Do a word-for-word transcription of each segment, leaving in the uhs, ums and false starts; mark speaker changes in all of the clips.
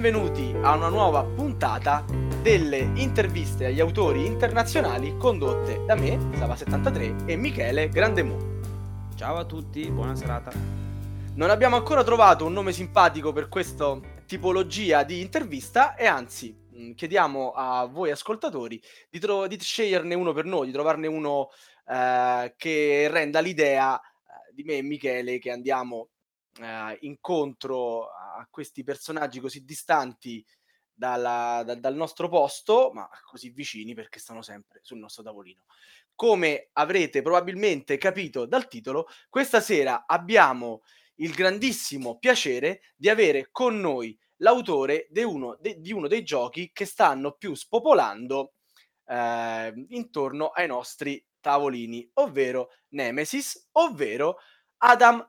Speaker 1: benvenuti a una nuova puntata delle interviste agli autori internazionali condotte da me, Sava settantatré, e Michele Grandemu.
Speaker 2: Ciao a tutti, buona serata.
Speaker 1: Non abbiamo ancora trovato un nome simpatico per questa tipologia di intervista e anzi mh, chiediamo a voi ascoltatori di, tro- di sceglierne uno per noi, di trovarne uno eh, che renda l'idea eh, di me e Michele che andiamo eh, incontro a questi personaggi così distanti dalla, da, dal nostro posto, ma così vicini perché stanno sempre sul nostro tavolino. Come avrete probabilmente capito dal titolo, questa sera abbiamo il grandissimo piacere di avere con noi l'autore di uno, de, di uno dei giochi che stanno più spopolando eh, intorno ai nostri tavolini, ovvero Nemesis, ovvero Adam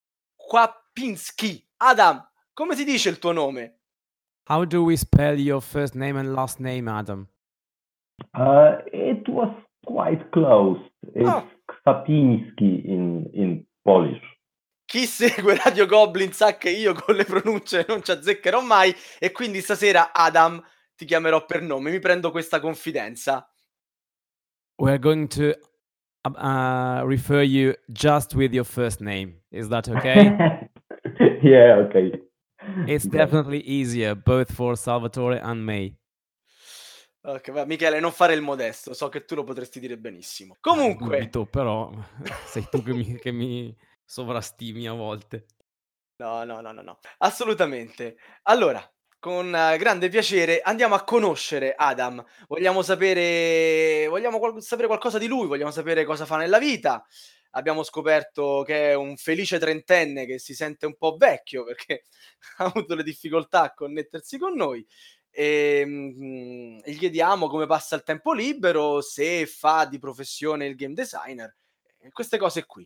Speaker 1: Kwapinski. Adam, come si dice il tuo nome?
Speaker 2: How do we spell your first name and last name, Adam?
Speaker 3: Uh, it was quite close. It's
Speaker 1: Oh.
Speaker 3: Kwapinski in, in Polish.
Speaker 1: Chi segue Radio Goblin sa che io con le pronunce non ci azzeccherò mai e quindi stasera Adam ti chiamerò per nome, mi prendo questa confidenza.
Speaker 2: We're going to uh, refer you just with your first name. Is that okay?
Speaker 3: Yeah, okay.
Speaker 2: It's
Speaker 3: Great.
Speaker 2: definitely easier, both for Salvatore and me.
Speaker 1: Ok, va, Michele, non fare il modesto, so che tu lo potresti dire benissimo. Comunque,
Speaker 2: Dubito, però sei tu che mi, che mi sovrastimi a volte.
Speaker 1: no, no, no, no, no, assolutamente. Allora, con eh, grande piacere andiamo a conoscere Adam. Vogliamo sapere, vogliamo qual- sapere qualcosa di lui, vogliamo sapere cosa fa nella vita. Abbiamo scoperto che è un felice trentenne che si sente un po' vecchio perché ha avuto le difficoltà a connettersi con noi. E, mm, e gli chiediamo come passa il tempo libero, se fa di professione il game designer, e queste cose qui.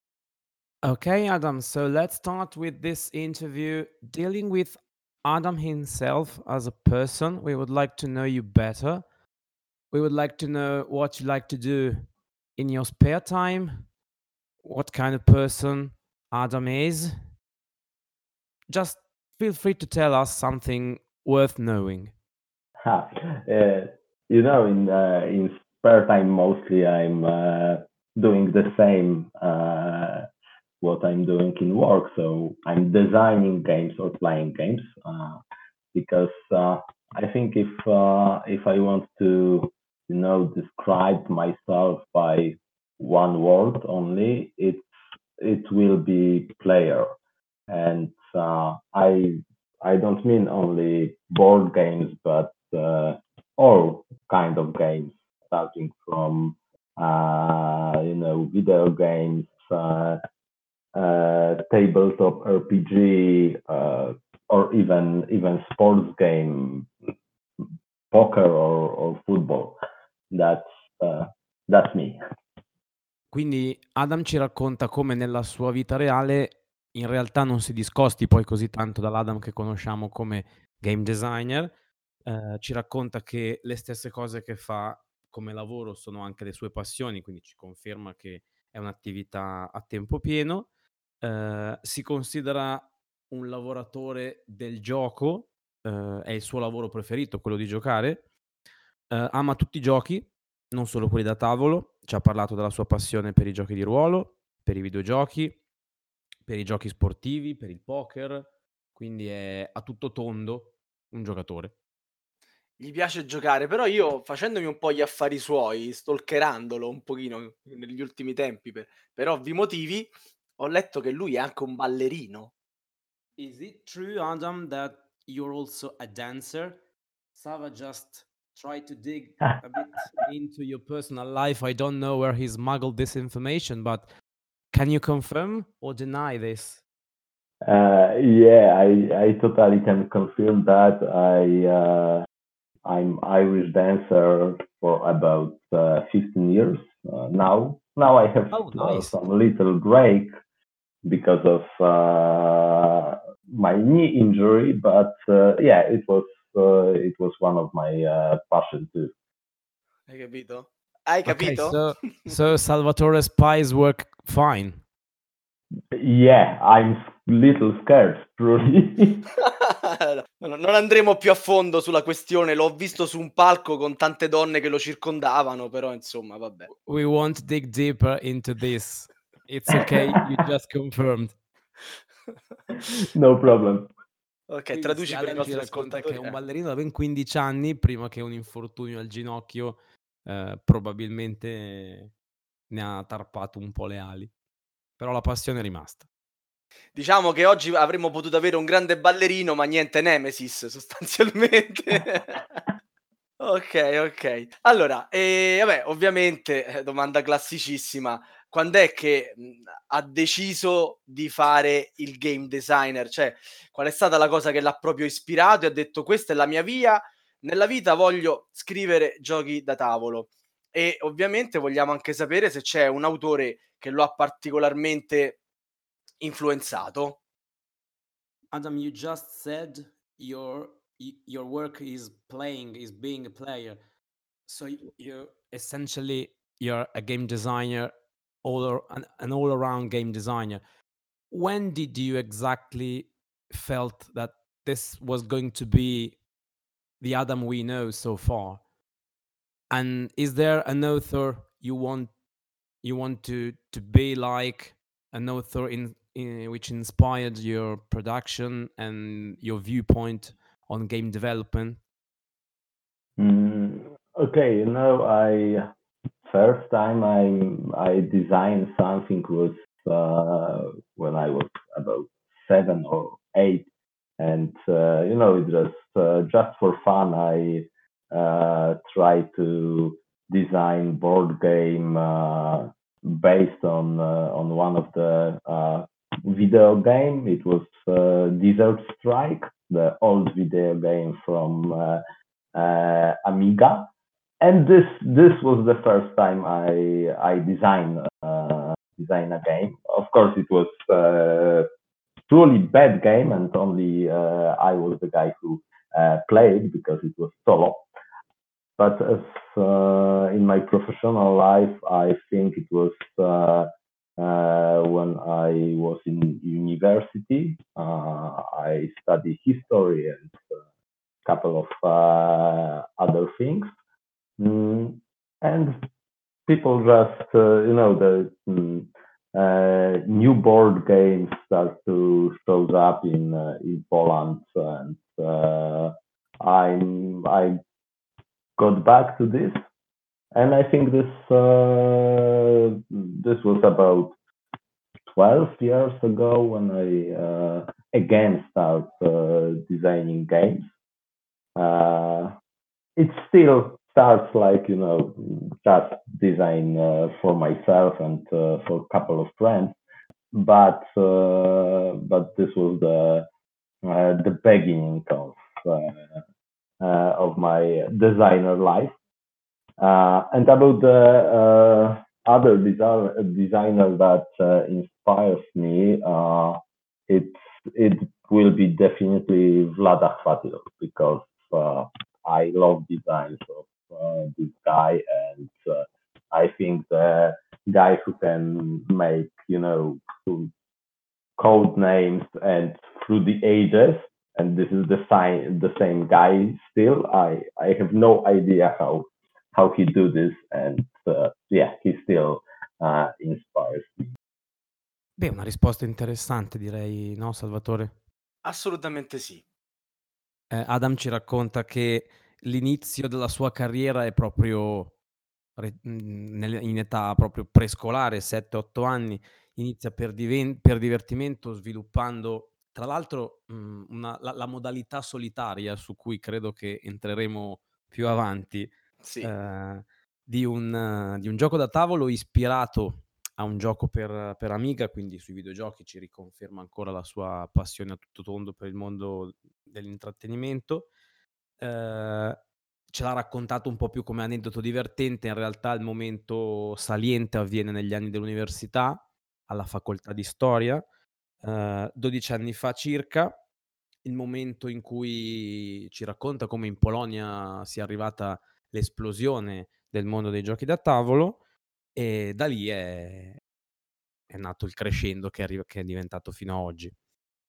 Speaker 2: Okay, Adam, so let's start with this interview dealing with Adam himself as a person. We would like to know you better. We would like to know what you like to do in your spare time, what kind of person Adam is. Just feel free to tell us something worth knowing.
Speaker 3: Ha, uh, you know, in uh, in spare time, mostly I'm uh, doing the same uh, what I'm doing in work. So I'm designing games or playing games uh, because uh, I think if uh, if I want to, you know, describe myself by one word only, it it will be player, and uh, I I don't mean only board games, but uh, all kind of games, starting from uh, you know video games, uh, uh, tabletop R P G, uh, or even even sports game, poker or, or football. That's uh, that's me.
Speaker 2: Quindi Adam ci racconta come nella sua vita reale in realtà non si discosti poi così tanto dall'Adam che conosciamo come game designer. Eh, ci racconta che le stesse cose che fa come lavoro sono anche le sue passioni, quindi ci conferma che è un'attività a tempo pieno. Eh, si considera un lavoratore del gioco, eh, è il suo lavoro preferito, quello di giocare. Eh, ama tutti i giochi, non solo quelli da tavolo. Ci ha parlato della sua passione per i giochi di ruolo, per i videogiochi, per i giochi sportivi, per il poker, quindi è a tutto tondo un giocatore.
Speaker 1: Gli piace giocare, però io facendomi un po' gli affari suoi, stalkerandolo un pochino negli ultimi tempi per, per ovvi motivi, ho letto che lui è anche un ballerino.
Speaker 2: Is it true, Adam, that you're also a dancer? Sava just tried to dig a bit into your personal life. I don't know where he smuggled this information, but can you confirm or deny this?
Speaker 3: Uh, yeah, I, I totally can confirm that. I uh, I'm Irish dancer for about uh, fifteen years uh, now. Now I have
Speaker 2: Oh,
Speaker 3: uh,
Speaker 2: nice.
Speaker 3: some little break because of uh, my knee injury, but uh, yeah, it was uh, it was one of my uh, passion too.
Speaker 1: Hai capito? Hai
Speaker 2: Okay,
Speaker 1: capito?
Speaker 2: so so Salvatore's pies work fine.
Speaker 3: Yeah, I'm little scared, truly.
Speaker 1: No, non andremo più a fondo sulla questione, l'ho visto su un palco con tante donne che lo circondavano, però insomma vabbè.
Speaker 2: We won't dig deeper into this. It's okay, you just confirmed.
Speaker 3: No problem.
Speaker 1: Ok,
Speaker 2: Quindi sì,
Speaker 1: traduci per i
Speaker 2: Adam ci
Speaker 1: nostri
Speaker 2: racconta che è
Speaker 1: ascoltatori.
Speaker 2: un
Speaker 1: eh.
Speaker 2: ballerino da ben quindici anni, prima che un infortunio al ginocchio eh, probabilmente ne ha tarpato un po' le ali. Però la passione è rimasta.
Speaker 1: Diciamo che oggi avremmo potuto avere un grande ballerino, ma niente Nemesis sostanzialmente. Okay, okay. Allora, ehm, vabbè, ovviamente, eh, domanda classicissima: quand'è che, mhmm, ha deciso di fare il game designer? Cioè, qual è stata la cosa che l'ha proprio ispirato e ha detto: "Questa è la mia via, nella vita voglio scrivere giochi da tavolo"? E ovviamente vogliamo anche sapere se c'è un autore che lo ha particolarmente influenzato.
Speaker 2: Adam, you just said your y- your work is playing, is being a player. So y- you essentially you're a game designer, all ar- an, an all around game designer. When did you exactly felt that this was going to be the Adam we know so far? And is there an author you want you want to to be like, an author in, in which inspired your production and your viewpoint on game development?
Speaker 3: Mm, okay, you know, I first time I I designed something was uh, when I was about seven or eight, and uh, you know, it was uh, just for fun. I uh, tried to design board game uh, based on uh, on one of the uh, video game. It was uh, Desert Strike, the old video game from uh, uh, Amiga, and this this was the first time I I designed uh, design a game. Of course, it was uh, truly bad game, and only uh, I was the guy who uh, played because it was solo. But as uh, in my professional life, I think it was uh, uh, when I was in university. Uh, I studied history and a couple of uh, other things. Mm, and people just, uh, you know, the mm, uh, new board games start to show up in uh, in Poland, and uh, I'm I got back to this, and I think this uh, this was about twelve years ago when I uh, again start uh, designing games. Uh, it still starts like, you know, just design uh, for myself and uh, for a couple of friends, but uh, but this was the uh, the beginning of uh, uh, of my designer life. Uh, and about the uh, other design, designer that uh, inspires me, uh, it it will be definitely Vlada Chvatilov, because uh, I love designs of uh, this guy, and uh, I think the guy who can make, you know, code names and through the ages, and this is the sign the same guy still. I I have no idea how how he do this, and uh, yeah, he still uh, inspires me.
Speaker 2: Beh, una risposta interessante direi, no Salvatore?
Speaker 1: Assolutamente sì.
Speaker 2: Eh, Adam ci racconta che l'inizio della sua carriera è proprio re- mh, nel- in età proprio prescolare, sette otto anni, inizia per, diven- per divertimento sviluppando, tra l'altro, mh, una- la, la modalità solitaria su cui credo che entreremo più avanti,
Speaker 1: Sì.
Speaker 2: eh, di un, eh, di un gioco da tavolo ispirato a un gioco per, per Amiga, quindi sui videogiochi ci riconferma ancora la sua passione a tutto tondo per il mondo dell'intrattenimento. Ehm, Ce l'ha raccontato un po' più come aneddoto divertente, in realtà il momento saliente avviene negli anni dell'università, alla facoltà di storia, ehm, dodici anni fa circa, il momento in cui ci racconta come in Polonia sia arrivata l'esplosione del mondo dei giochi da tavolo, e da lì è è nato il crescendo che arriva che è diventato fino a oggi.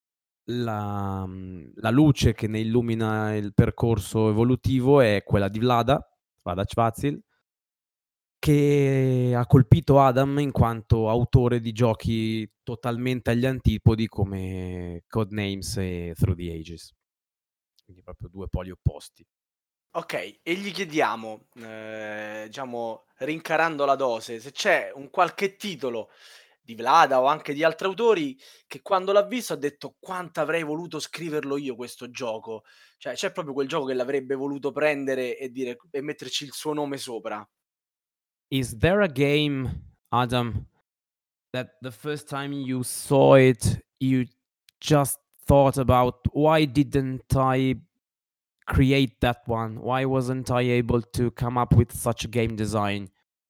Speaker 2: la, mhmm, la luce che ne illumina il percorso evolutivo è quella di Vlada, Vlada Chvátil, che ha colpito Adam in quanto autore di giochi totalmente agli antipodi come Codenames e Through the Ages. Quindi proprio due poli opposti.
Speaker 1: Okay, e gli chiediamo, ehm, diciamo rincarando la dose, se c'è un qualche titolo di Vlada o anche di altri autori che quando l'ha visto ha detto: "Quanto avrei voluto scriverlo io questo gioco." Cioè, c'è proprio quel gioco che l'avrebbe voluto prendere e dire e metterci il suo nome sopra.
Speaker 2: Is there a game, Adam, that the first time you saw it, you just thought about, "Why didn't I create that one? Why wasn't I able to come up with such a game design?"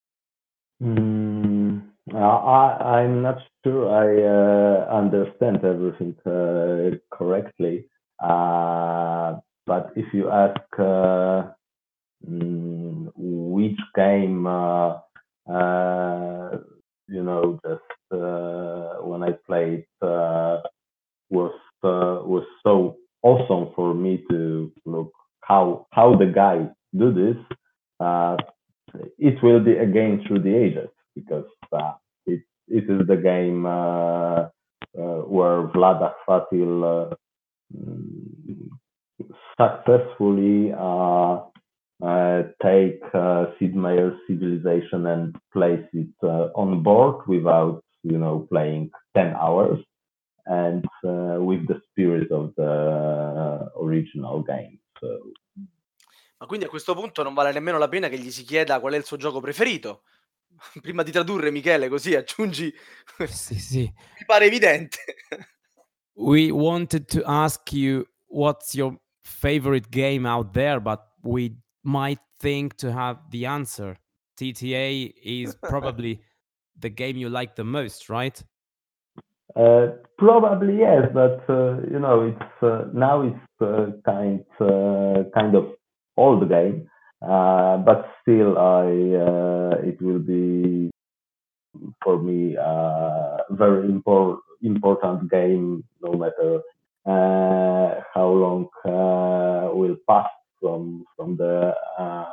Speaker 3: Mm, I, I- I'm not sure I uh, understand everything uh, correctly. Uh, but if you ask uh, mm, which game, uh, uh, you know, just uh, when I played uh, was uh, was so awesome for me to look how how the guy do this. Uh, it will be a game through the ages because uh, it it is the game uh, uh, where Vlada Fatil uh, mm, successfully uh, uh, take uh, Sid Meier's civilization and place it uh, on board without you know playing ten hours and uh, with the spirit of the original game. So
Speaker 1: Ma quindi a questo punto non vale nemmeno la pena che gli si chieda qual è il suo gioco preferito? Prima di tradurre Michele, così aggiungi
Speaker 2: Sì, sì.
Speaker 1: mi pare evidente.
Speaker 2: We wanted to ask you what's your favorite game out there, but we might think to have the answer. T T A is probably the game you like the most, right?
Speaker 3: uh, probably yes, but uh, you know it's uh, now it's uh, kind uh, kind of old game, uh, but still I uh, it will be for me uh, very impor- important game no matter uh, how long uh, will pass from from the uh,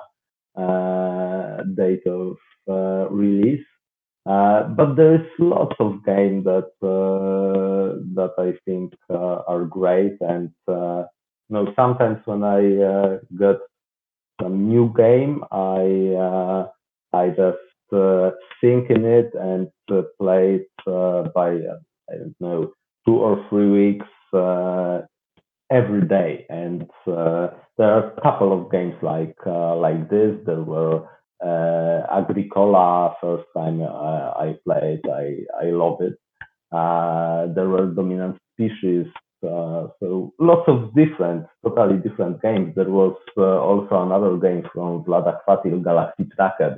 Speaker 3: uh, date of uh, release. Uh, but there is lots of games that uh, that I think uh, are great, and uh, you know sometimes when I uh, get some new game, I uh, I just uh, think in it and uh, play it uh, by uh, I don't know two or three weeks uh, every day. And uh, there are a couple of games like uh, like this. There were uh, Agricola first time uh, I played. I I love it. Uh, there were Dominant Species. Uh, so lots of different, totally different games. There was uh, also another game from Vlada Fatil, Galaxy Tracker.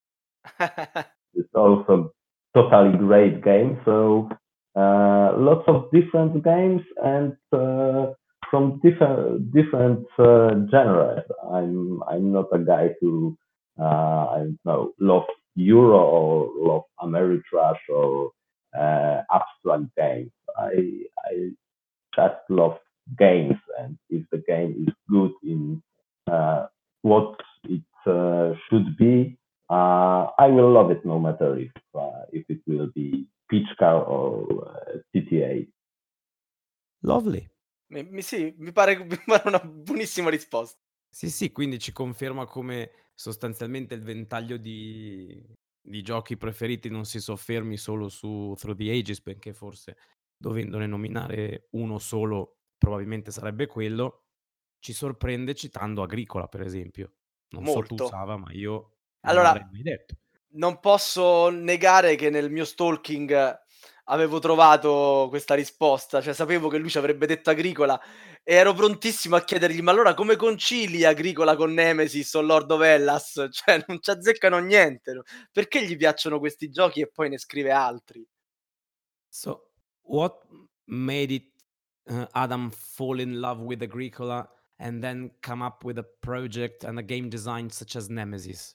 Speaker 3: It's also totally great game. So uh, lots of different games and uh, from different different uh, genres. I'm I'm not a guy who uh, I don't know love Euro or love Ameritrash or uh, abstract games. I I just love games, and if the game is good in uh, what it uh, should be, uh, I will love it no matter if uh, if it will be Peach Car or uh, T T A.
Speaker 2: Lovely.
Speaker 1: Mi mi sì, mi pare mi pare una buonissima risposta.
Speaker 2: Sì, sì, quindi ci conferma come sostanzialmente il ventaglio di di giochi preferiti non si soffermi solo su Through the Ages, benché forse dovendone nominare uno solo probabilmente sarebbe quello. Ci sorprende citando Agricola, per esempio. Non so tu
Speaker 1: Molto.
Speaker 2: Sava, ma io non
Speaker 1: Allora,
Speaker 2: l'avrei mai detto.
Speaker 1: non posso negare che nel mio stalking avevo trovato questa risposta, cioè sapevo che lui ci avrebbe detto Agricola e ero prontissimo a chiedergli: "Ma allora come concili Agricola con Nemesis o Lord of Hellas?" Cioè non ci azzeccano niente, no, perché gli piacciono questi giochi e poi ne scrive altri?
Speaker 2: So, what made it uh, Adam fall in love with Agricola and then come up with a project and a game design such as Nemesis?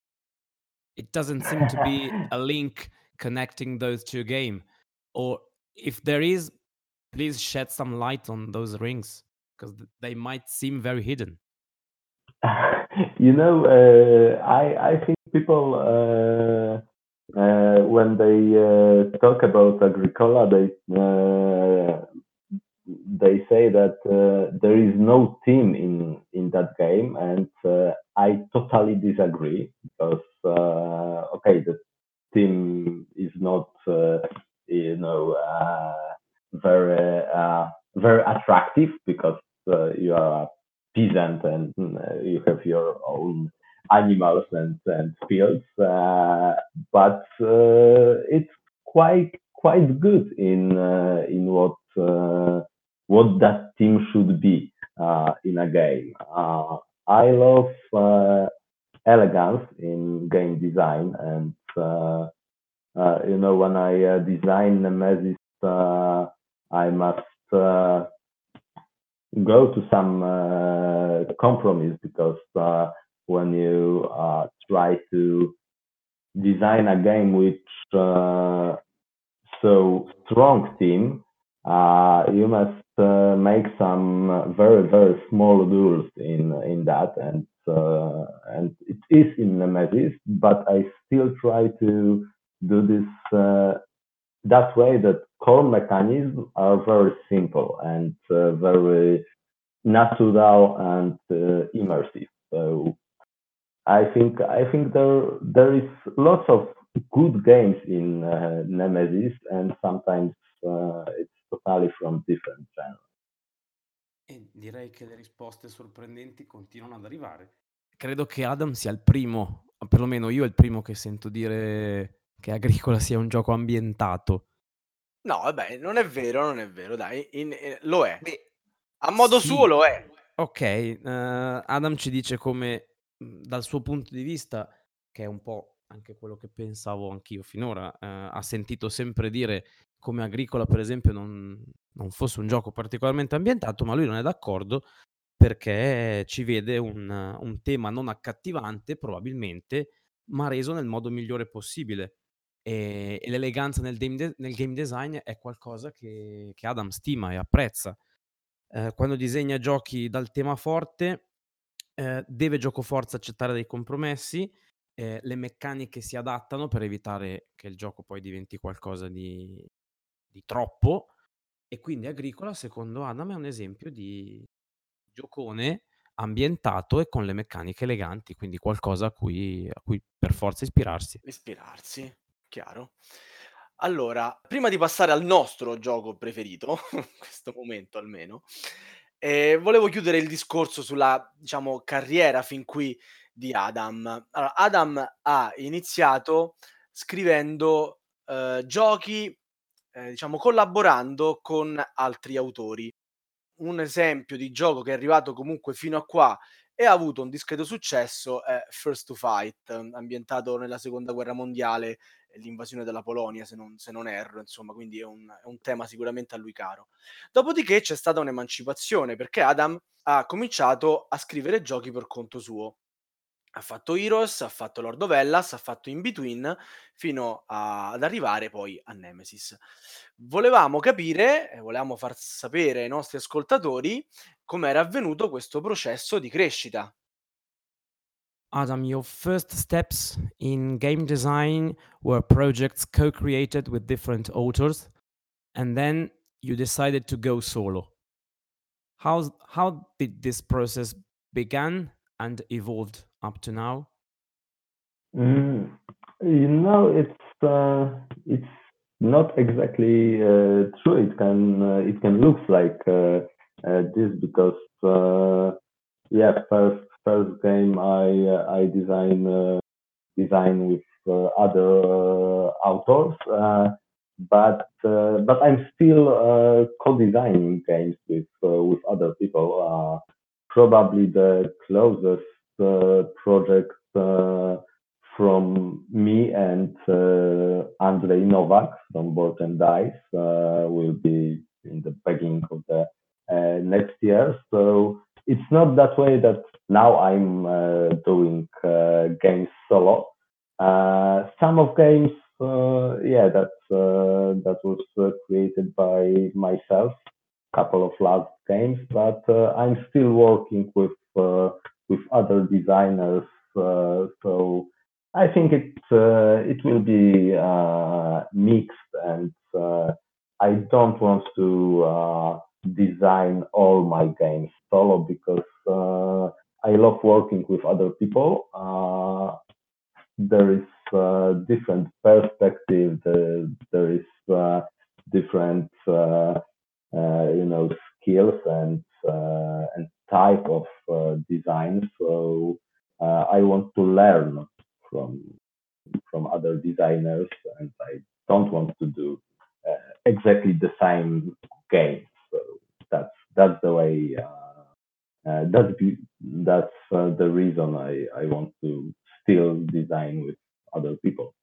Speaker 2: It doesn't seem to be a link connecting those two game, or if there is, please shed some light on those rings because they might seem very hidden.
Speaker 3: You know, uh, I I think people uh, uh, when they uh, talk about Agricola, they uh, they say that uh, there is no team in in that game, and uh, I totally disagree because uh, okay, the team is not uh, you know uh, very uh, very attractive because uh, you are a peasant and uh, you have your own animals and, and fields, uh, but uh, it's quite quite good in uh, in what uh, what that team should be uh, in a game. Uh, I love uh, elegance in game design, and uh, uh, you know when I uh, design Nemesis, uh, I must uh, go to some uh, compromise because uh, when you uh, try to design a game which uh, so strong team, uh, you must uh, make some very very small rules in in that, and uh, and it is in Nemesis, but I still try to do this uh, that way. That core mechanisms are very simple and uh, very natural and uh, immersive. So I think I think there there is lots of good games in uh, Nemesis, and sometimes uh, it's totally from different genres.
Speaker 2: E direi che le risposte sorprendenti continuano ad arrivare. Credo che Adam sia il primo, o perlomeno io è il primo che sento dire che Agricola sia un gioco ambientato.
Speaker 1: No, vabbè, non è vero, non è vero, dai, in- eh, lo è.
Speaker 2: Beh,
Speaker 1: A modo
Speaker 2: sì.
Speaker 1: suo lo è.
Speaker 2: Ok, eh, Adam ci dice come mh, dal suo punto di vista, che è un po' anche quello che pensavo anch'io finora, eh, ha sentito sempre dire come Agricola, per esempio, non, non fosse un gioco particolarmente ambientato, ma lui non è d'accordo perché ci vede un, un tema non accattivante, probabilmente, ma reso nel modo migliore possibile. E, e l'eleganza nel game, de- nel game design è qualcosa che, che Adam stima e apprezza. Eh, quando disegna giochi dal tema forte, eh, deve giocoforza accettare dei compromessi, eh, le meccaniche si adattano per evitare che il gioco poi diventi qualcosa di, di troppo, e quindi Agricola, secondo Adam, è un esempio di giocone ambientato e con le meccaniche eleganti, quindi qualcosa a cui, a cui per forza ispirarsi.
Speaker 1: Ispirarsi, chiaro. Allora, prima di passare al nostro gioco preferito, in questo momento almeno, eh, volevo chiudere il discorso sulla, diciamo, carriera fin qui di Adam. Allora, Adam ha iniziato scrivendo eh, giochi, eh, diciamo, collaborando con altri autori. Un esempio di gioco che è arrivato comunque fino a qua e ha avuto un discreto successo è First to Fight, ambientato nella seconda guerra mondiale e l'invasione della Polonia, se non, se non erro, insomma, quindi è un, è un tema sicuramente a lui caro. Dopodiché c'è stata un'emancipazione perché Adam ha cominciato a scrivere giochi per conto suo. Ha fatto Heroes, ha fatto Lord of Hellas, ha fatto In Between, fino a- ad arrivare poi a Nemesis. Volevamo capire, e volevamo far sapere ai nostri ascoltatori com'era avvenuto questo processo di crescita.
Speaker 2: Adam, your first steps in game design were projects co-created with different authors, and then you decided to go solo. How's, how did this process began and evolved up to now?
Speaker 3: Mm, you know, it's uh, it's not exactly uh, true. It can uh, it can look like uh, uh, this because uh, yeah, first first game I uh, I design uh, design with uh, other uh, authors, uh, but uh, but I'm still uh, co-designing games with uh, with other people. Uh, probably the closest uh, project uh, from me and uh, Andrzej Nowak from Board and Dice uh, will be in the beginning of the uh, next year. So it's not that way that now I'm uh, doing uh, games solo. Uh, some of games uh, yeah, that's uh, that was uh, created by myself. Couple of last games, but uh, I'm still working with uh, with other designers. Uh, so I think it uh, it will be uh, mixed, and uh, I don't want to uh, design all my games solo because uh, I love working with other people. Uh, there is uh, different perspective. There, there is uh, different, uh, uh, you know, skills and uh, and type of uh, design. So uh, I want to learn from from other designers, and I don't want to do uh, exactly the same game. So that's that's the way. Uh, uh, that's be, that's uh, the reason I, I want to still design with other people.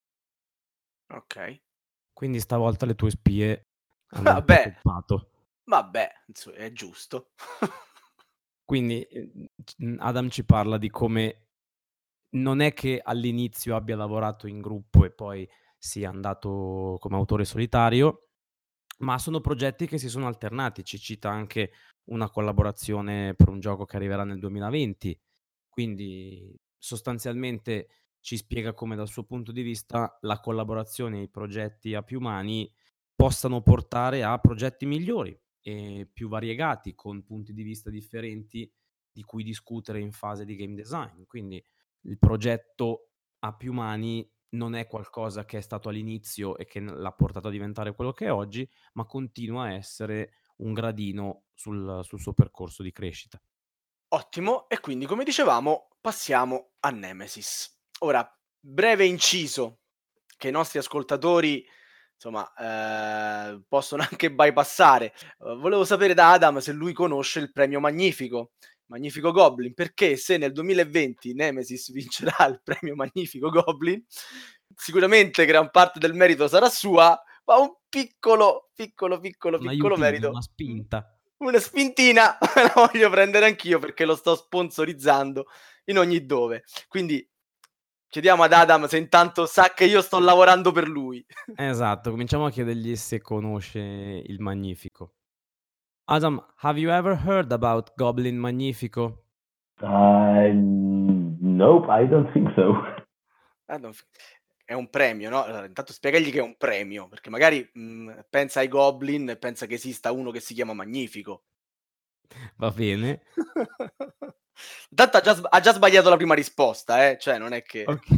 Speaker 1: Ok.
Speaker 2: Quindi stavolta le tue spie hanno un po'
Speaker 1: Vabbè,
Speaker 2: toppato.
Speaker 1: vabbè, insomma, è giusto.
Speaker 2: Quindi eh, c- Adam ci parla di come non è che all'inizio abbia lavorato in gruppo e poi sia andato come autore solitario, ma sono progetti che si sono alternati. Ci cita anche una collaborazione per un gioco che arriverà nel duemilaventi. Quindi sostanzialmente ci spiega come dal suo punto di vista la collaborazione e i progetti a più mani possano portare a progetti migliori e più variegati, con punti di vista differenti di cui discutere in fase di game design. Quindi il progetto a più mani non è qualcosa che è stato all'inizio e che n- l'ha portato a diventare quello che è oggi, ma continua a essere un gradino sul, sul suo percorso di crescita.
Speaker 1: Ottimo, e quindi come dicevamo passiamo a Nemesis. Ora, breve inciso che i nostri ascoltatori insomma eh, possono anche bypassare. Eh, volevo sapere da Adam se lui conosce il premio Magnifico, Magnifico Goblin, perché se nel duemilaventi Nemesis vincerà il premio Magnifico Goblin, sicuramente gran parte del merito sarà sua, ma un piccolo, piccolo, piccolo,
Speaker 2: Un
Speaker 1: piccolo
Speaker 2: aiutino,
Speaker 1: merito,
Speaker 2: una spinta.
Speaker 1: una spintina la voglio prendere anch'io perché lo sto sponsorizzando in ogni dove. Quindi chiediamo ad Adam se intanto sa che io sto lavorando per lui.
Speaker 2: Esatto, cominciamo a chiedergli se conosce il Magnifico. Adam, have you ever heard about Goblin Magnifico?
Speaker 3: Uh, nope, I don't think so.
Speaker 1: Ah, non f- È un premio, no? Allora, intanto spiegagli che è un premio, perché magari mh, pensa ai Goblin e pensa che esista uno che si chiama Magnifico.
Speaker 2: Va bene.
Speaker 1: Intanto ha già, sb- ha già sbagliato la prima risposta, eh? Cioè, non è che...
Speaker 2: Okay.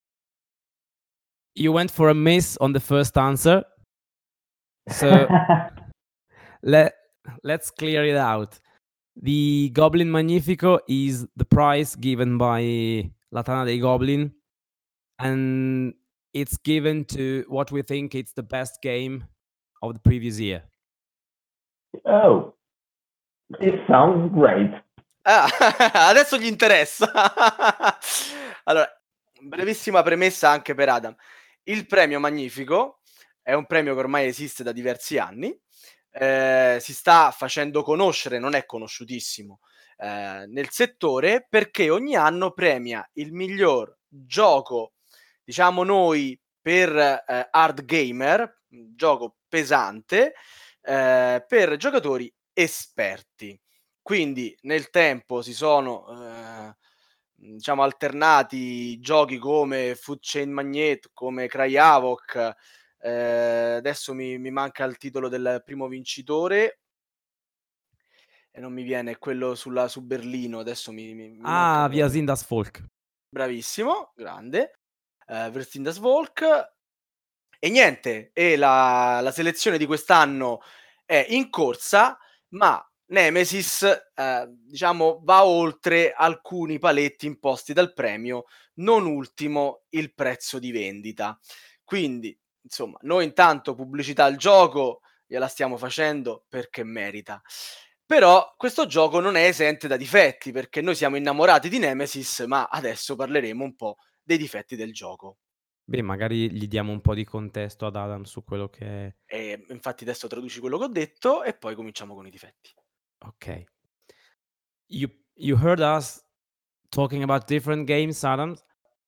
Speaker 2: You went for a miss on the first answer. So let let's clear it out. The Goblin Magnifico is the prize given by La Tana dei Goblin, and it's given to what we think it's the best game of the previous year.
Speaker 3: Oh, it sounds great.
Speaker 1: Ah, adesso gli interessa. Allora, brevissima premessa anche per Adam. Il premio Magnifico è un premio che ormai esiste da diversi anni, eh, si sta facendo conoscere, non è conosciutissimo eh, nel settore, perché ogni anno premia il miglior gioco, diciamo noi, per eh, hard gamer, un gioco pesante, eh, per giocatori esperti. Quindi nel tempo si sono eh, diciamo alternati giochi come Food Chain Magnate, come Cry Havoc, eh, adesso mi, mi manca il titolo del primo vincitore e non mi viene quello sulla, su Berlino, adesso mi, mi, mi manca
Speaker 2: Ah,
Speaker 1: proprio.
Speaker 2: Wir sind das Volk.
Speaker 1: Bravissimo, grande. Uh, Wir sind das Volk. E niente, e la, la selezione di quest'anno è in corsa, ma Nemesis, eh, diciamo, va oltre alcuni paletti imposti dal premio, non ultimo il prezzo di vendita. Quindi, insomma, noi intanto pubblicità al gioco gliela stiamo facendo perché merita. Però questo gioco non è esente da difetti, perché noi siamo innamorati di Nemesis, ma adesso parleremo un po' dei difetti del gioco.
Speaker 2: Beh, magari gli diamo un po' di contesto ad Adam su quello che è.
Speaker 1: E infatti adesso traduci quello che ho detto e poi cominciamo con i difetti.
Speaker 2: Okay. You you heard us talking about different games, Adam.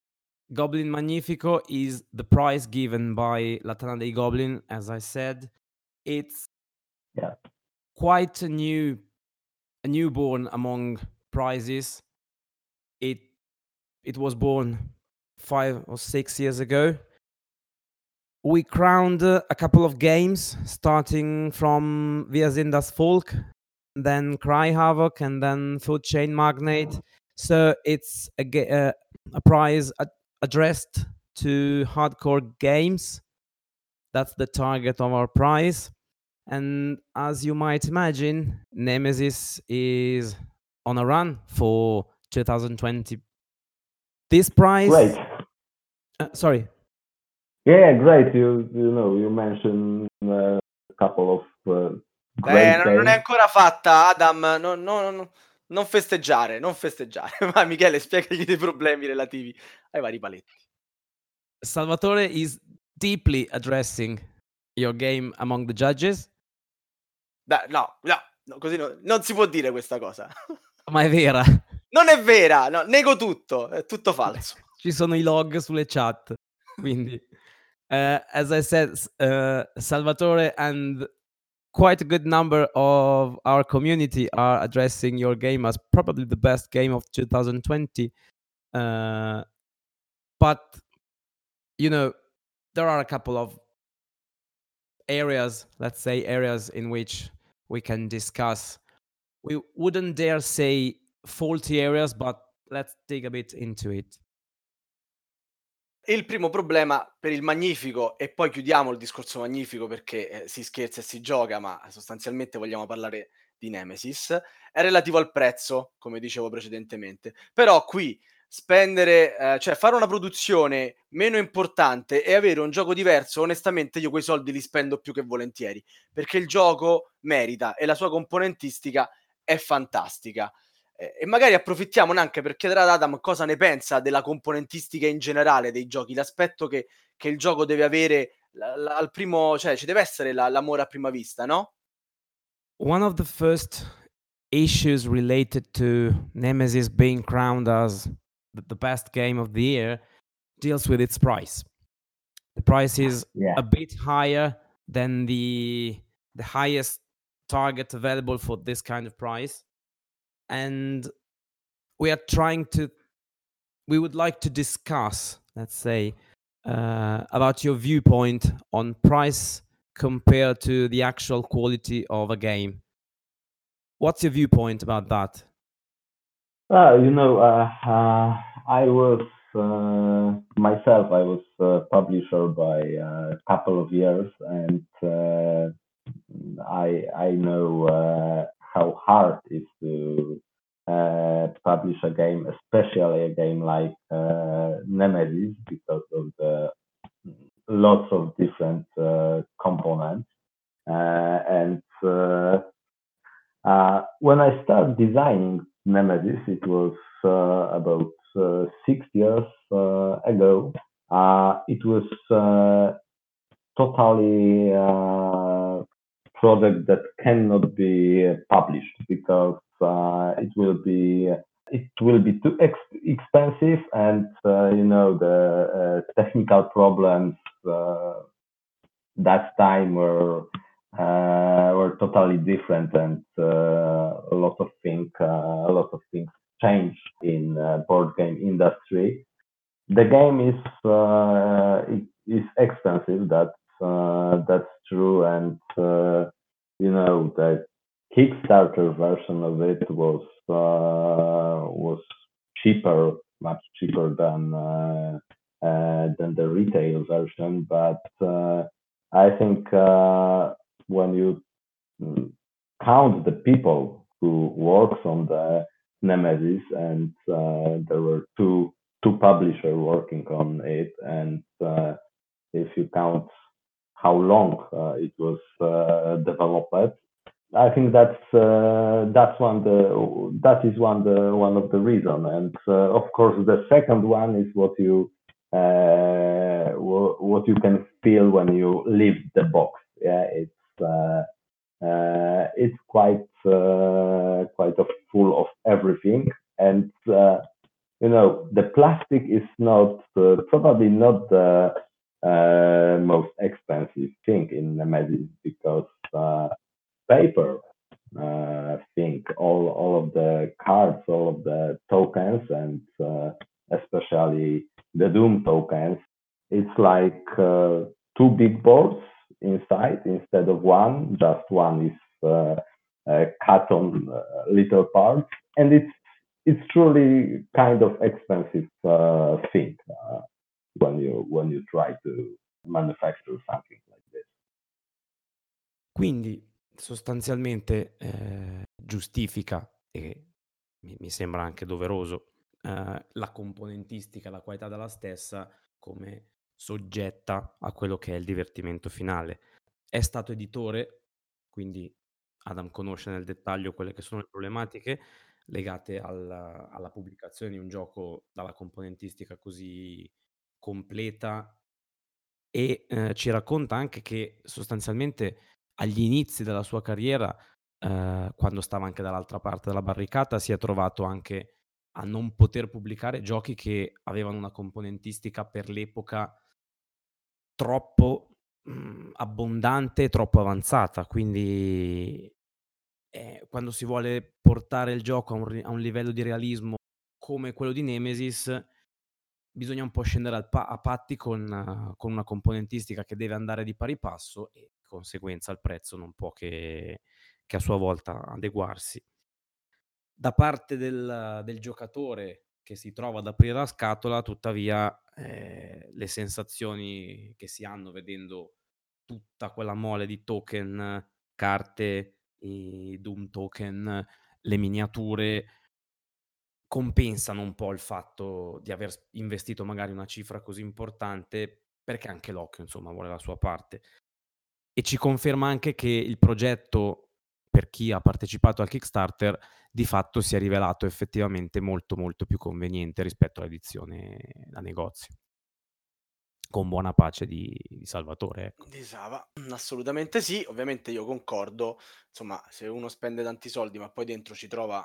Speaker 2: Goblin Magnifico is the prize given by Latana dei Goblin, as I said. It's
Speaker 3: Yeah.
Speaker 2: quite a new, a newborn among prizes. It it was born five or six years ago. We crowned uh, a couple of games, starting from Wir sind das Volk, then Cry Havoc, and then Food Chain Magnate. So it's a, ga- uh, a prize ad- addressed to hardcore games. That's the target of our prize. And as you might imagine, Nemesis is on a run for two thousand twenty. This prize.
Speaker 3: Great.
Speaker 2: Uh, sorry.
Speaker 3: Yeah, great. You you know you mentioned uh, a couple of uh, great
Speaker 1: Eh, non,
Speaker 3: games.
Speaker 1: non è ancora fatta, Adam. No, no, no, non festeggiare, non festeggiare. Ma Michele, spiegagli dei problemi relativi ai vari paletti.
Speaker 2: Salvatore is deeply addressing your game among the judges.
Speaker 1: Da, no, no, no, così no, non si può dire questa cosa.
Speaker 2: Ma è vera.
Speaker 1: Non è vera, no, nego tutto, è tutto falso.
Speaker 2: Ci sono i log sulle chat. Quindi, uh, as I said, uh, Salvatore and quite a good number of our community are addressing your game as probably the best game of two thousand twenty. Uh, but, you know, there are a couple of areas, let's say areas in which we can discuss. We wouldn't dare say faulty areas, but let's dig a bit into it.
Speaker 1: Il primo problema per il Magnifico, e poi chiudiamo il discorso Magnifico perché eh, si scherza e si gioca, ma sostanzialmente vogliamo parlare di Nemesis, è relativo al prezzo, come dicevo precedentemente. Però qui spendere, eh, cioè fare una produzione meno importante e avere un gioco diverso, onestamente io quei soldi li spendo più che volentieri, perché il gioco merita e la sua componentistica è fantastica. E magari approfittiamone anche per chiedere ad Adam cosa ne pensa della componentistica in generale dei giochi, l'aspetto che, che il gioco deve avere la, la, al primo, cioè ci deve essere la, l'amore a prima vista, no?
Speaker 2: One of the first issues related to Nemesis being crowned as the, the best game of the year deals with its price. The price is
Speaker 3: Yeah.
Speaker 2: a bit higher than the the highest target available for this kind of price. And we are trying to, we would like to discuss, let's say, uh, about your viewpoint on price compared to the actual quality of a game. What's your viewpoint about that?
Speaker 3: Uh, you know, uh, uh, I was uh, myself. I was a publisher by a couple of years, and uh, I I know uh, how hard it is to uh, publish a game, especially a game like uh, Nemesis, because of the lots of different uh, components. Uh, and uh, uh, when I started designing Nemesis, it was uh, about uh, six years uh, ago. Uh, it was uh, totally uh, product that cannot be published because uh, it will be it will be too ex- expensive, and uh, you know the uh, technical problems uh, that time were uh, were totally different, and uh, a lot of things uh, a lot of things changed in uh, board game industry. The game is uh, it is expensive. That's uh, that's true, and uh, you know the Kickstarter version of it was uh, was cheaper, much cheaper than uh, uh, than the retail version. But uh, I think uh, when you mm, count the people who works on the Nemesis, and uh, there were two two publishers working on it, and uh, if you count how long uh, it was uh, developed, I think that's uh, that's one the that is one the one of the reason, and uh, of course the second one is what you uh, what you can feel when you leave the box. Yeah, it's uh, uh, it's quite uh, quite a full of everything, and uh, you know, the plastic is not uh, probably not the uh, most expensive thing in Nemesis because uh, paper uh, thing, all all of the cards, all of the tokens, and uh, especially the Doom tokens, it's like uh, two big boards inside instead of one. Just one is uh, uh, cut on uh, little parts, and it's it's truly kind of expensive uh, thing uh, when you when you try to manufacture something like this.
Speaker 2: Quindi sostanzialmente eh, giustifica, e mi, mi sembra anche doveroso, eh, la componentistica, la qualità della stessa come soggetta a quello che è il divertimento finale. È stato editore, quindi Adam conosce nel dettaglio quelle che sono le problematiche legate alla, alla pubblicazione di un gioco dalla componentistica così completa e eh, ci racconta anche che sostanzialmente agli inizi della sua carriera, eh, quando stava anche dall'altra parte della barricata, si è trovato anche a non poter pubblicare giochi che avevano una componentistica per l'epoca troppo mh, abbondante, troppo avanzata. Quindi eh, quando si vuole portare il gioco a un, ri- a un livello di realismo come quello di Nemesis, bisogna un po' scendere al pa- a patti con, uh, con una componentistica che deve andare di pari passo e di conseguenza il prezzo non può che, che a sua volta adeguarsi. Da parte del, del giocatore che si trova ad aprire la scatola, tuttavia, eh, le sensazioni che si hanno vedendo tutta quella mole di token, carte, i Doom token, le miniature, compensano un po' il fatto di aver s investito magari una cifra così importante, perché anche l'occhio, insomma, vuole la sua parte. E ci conferma anche che il progetto, per chi ha partecipato al Kickstarter, di fatto si è rivelato effettivamente molto, molto più conveniente rispetto all'edizione da negozio. Con buona pace di di Salvatore, ecco.
Speaker 1: Di Sava, assolutamente sì, ovviamente io concordo, insomma, se uno spende tanti soldi ma poi dentro ci trova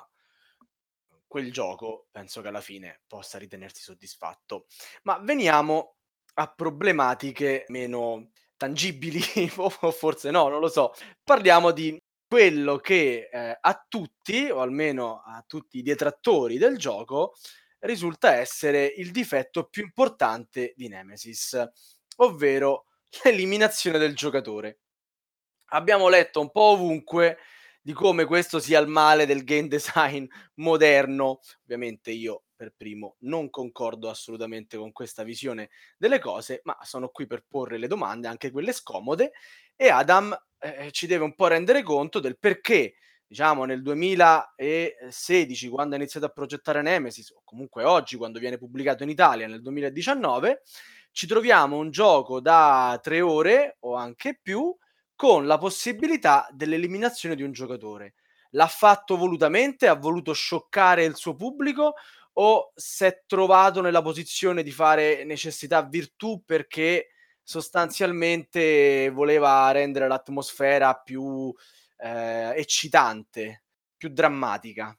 Speaker 1: quel gioco, penso che alla fine possa ritenersi soddisfatto. Ma veniamo a problematiche meno tangibili, o forse no, non lo so. Parliamo di quello che eh, a tutti, o almeno a tutti i detrattori del gioco, risulta essere il difetto più importante di Nemesis, ovvero l'eliminazione del giocatore. Abbiamo letto un po' ovunque di come questo sia il male del game design moderno. Ovviamente io per primo non concordo assolutamente con questa visione delle cose, ma sono qui per porre le domande, anche quelle scomode, e Adam eh, ci deve un po' rendere conto del perché, diciamo, nel duemilasedici, quando ha iniziato a progettare Nemesis, o comunque oggi, quando viene pubblicato in Italia nel duemiladiciannove, ci troviamo un gioco da tre ore o anche più con la possibilità dell'eliminazione di un giocatore. L'ha fatto volutamente? Ha voluto scioccare il suo pubblico? O s'è trovato nella posizione di fare necessità virtù perché sostanzialmente voleva rendere l'atmosfera più eh, eccitante, più drammatica?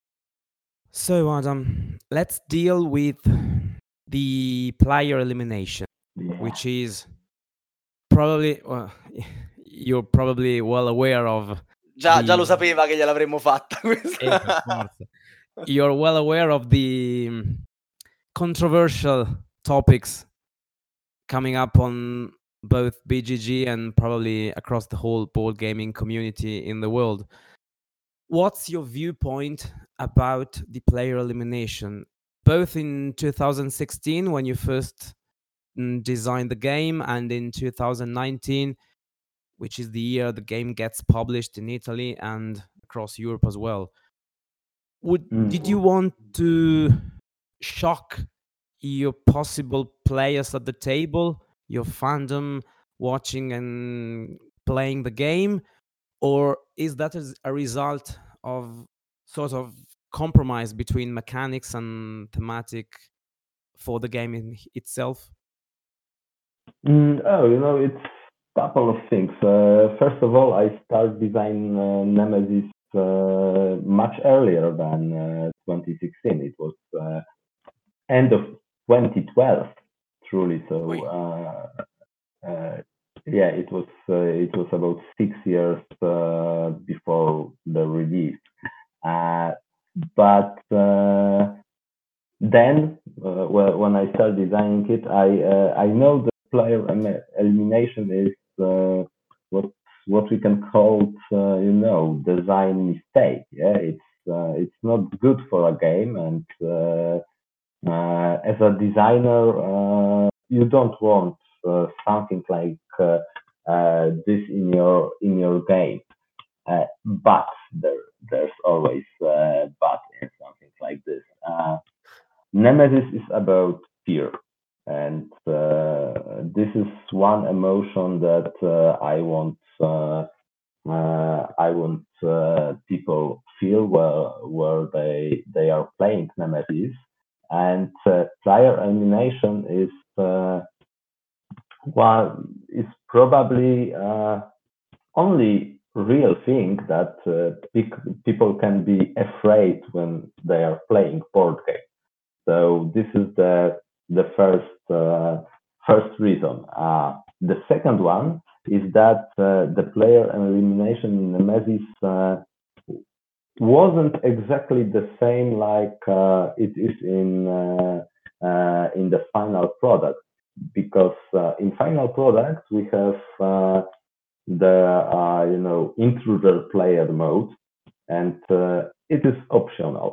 Speaker 2: So Adam, let's deal with the player elimination,
Speaker 3: Yeah.
Speaker 2: which is probably well, you're probably well aware of
Speaker 1: Già, già
Speaker 2: the
Speaker 1: lo sapeva che gliel'avremmo fatta questa.
Speaker 2: eh, per forza. You're well aware of the um, controversial topics coming up on both B G G and probably across the whole board gaming community in the world. What's your viewpoint about the player elimination, both in two thousand sixteen when you first mm, designed the game and in two thousand nineteen, which is the year the game gets published in Italy and across Europe as well? Would
Speaker 3: Mm.
Speaker 2: did you want to shock your possible players at the table, your fandom watching and playing the game, or is that as a result of sort of compromise between mechanics and thematic for the game in itself?
Speaker 3: Mm, oh, you know, it's a couple of things. Uh, first of all, I started designing uh, Nemesis uh, much earlier than uh, twenty sixteen. It was uh, end of twenty twelve, truly. So
Speaker 1: Ui.
Speaker 3: uh, uh, yeah, it was uh, it was about six years uh, before the release. Uh, but uh, then, uh, well, when I started designing it, I uh, I know the player em- elimination is uh, what what we can call uh, you know design mistake. Yeah, it's uh, it's not good for a game, and uh, uh, as a designer, uh, you don't want uh, something like uh, uh, this in your in your game. Uh, but there there's always uh, but in something like this. Uh, Nemesis is about fear, and uh, this is one emotion that uh, I want uh, uh, I want uh, people feel where where they they are playing Nemesis, and uh, player elimination is uh, one is probably uh, only real thing that uh, pic- people can be afraid when they are playing board games. So this is the the first uh, first reason. Uh, the second one is that uh, the player elimination in Nemesis uh, wasn't exactly the same like uh, it is in uh, uh, in the final product, because uh, in final product we have uh, the uh, you know intruder player mode, and uh, it is optional.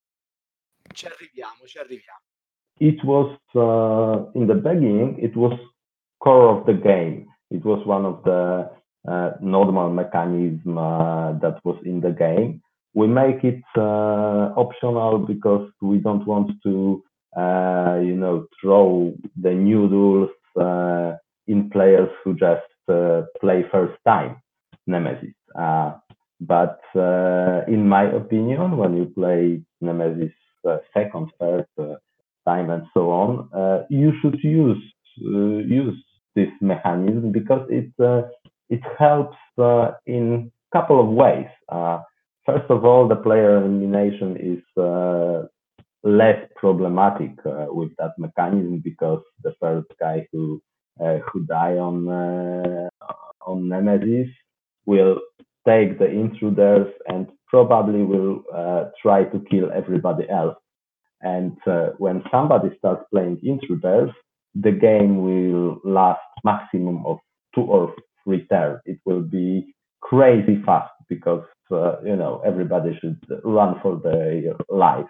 Speaker 1: Ci arriviamo, ci arriviamo.
Speaker 3: It was uh, in the beginning, it was core of the game. It was one of the uh, normal mechanism uh, that was in the game. We make it uh, optional because we don't want to uh, you know throw the new rules uh, in players who just uh, play first time Nemesis. Uh, but uh, in my opinion, when you play Nemesis uh, second, third uh, time and so on, uh, you should use uh, use this mechanism because it uh, it helps uh, in a couple of ways. Uh, first of all, the player elimination is uh, less problematic uh, with that mechanism, because the first guy who uh, who die on uh, on Nemesis will take the intruders and probably will uh, try to kill everybody else. And uh, when somebody starts playing intruders, the game will last maximum of two or three turns. It will be crazy fast because uh, you know everybody should run for their life.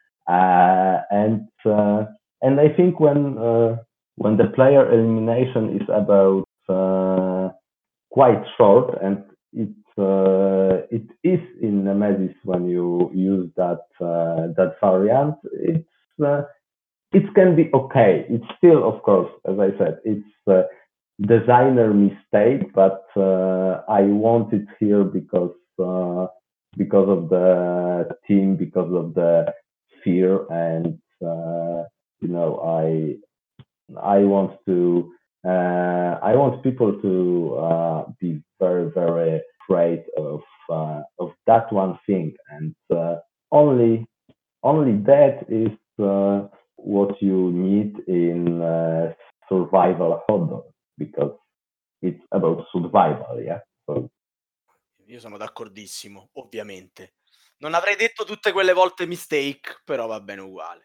Speaker 3: Uh, and uh, and I think when uh, when the player elimination is about uh, quite short, and it uh, it is in Nemesis when you use that uh, that variant. It's uh, it can be okay. It's still, of course, as I said, it's uh, designer mistake, but uh, I want it here because uh, because of the team, because of the fear, and uh, you know, I I want to uh, I want people to uh, be very very afraid of uh, of that one thing, and uh, only only that is uh, what you need in uh, survival horror, because it's about survival, yeah. So
Speaker 1: Io sono d'accordissimo, ovviamente. Non avrei detto tutte quelle volte mistake, però va bene uguale.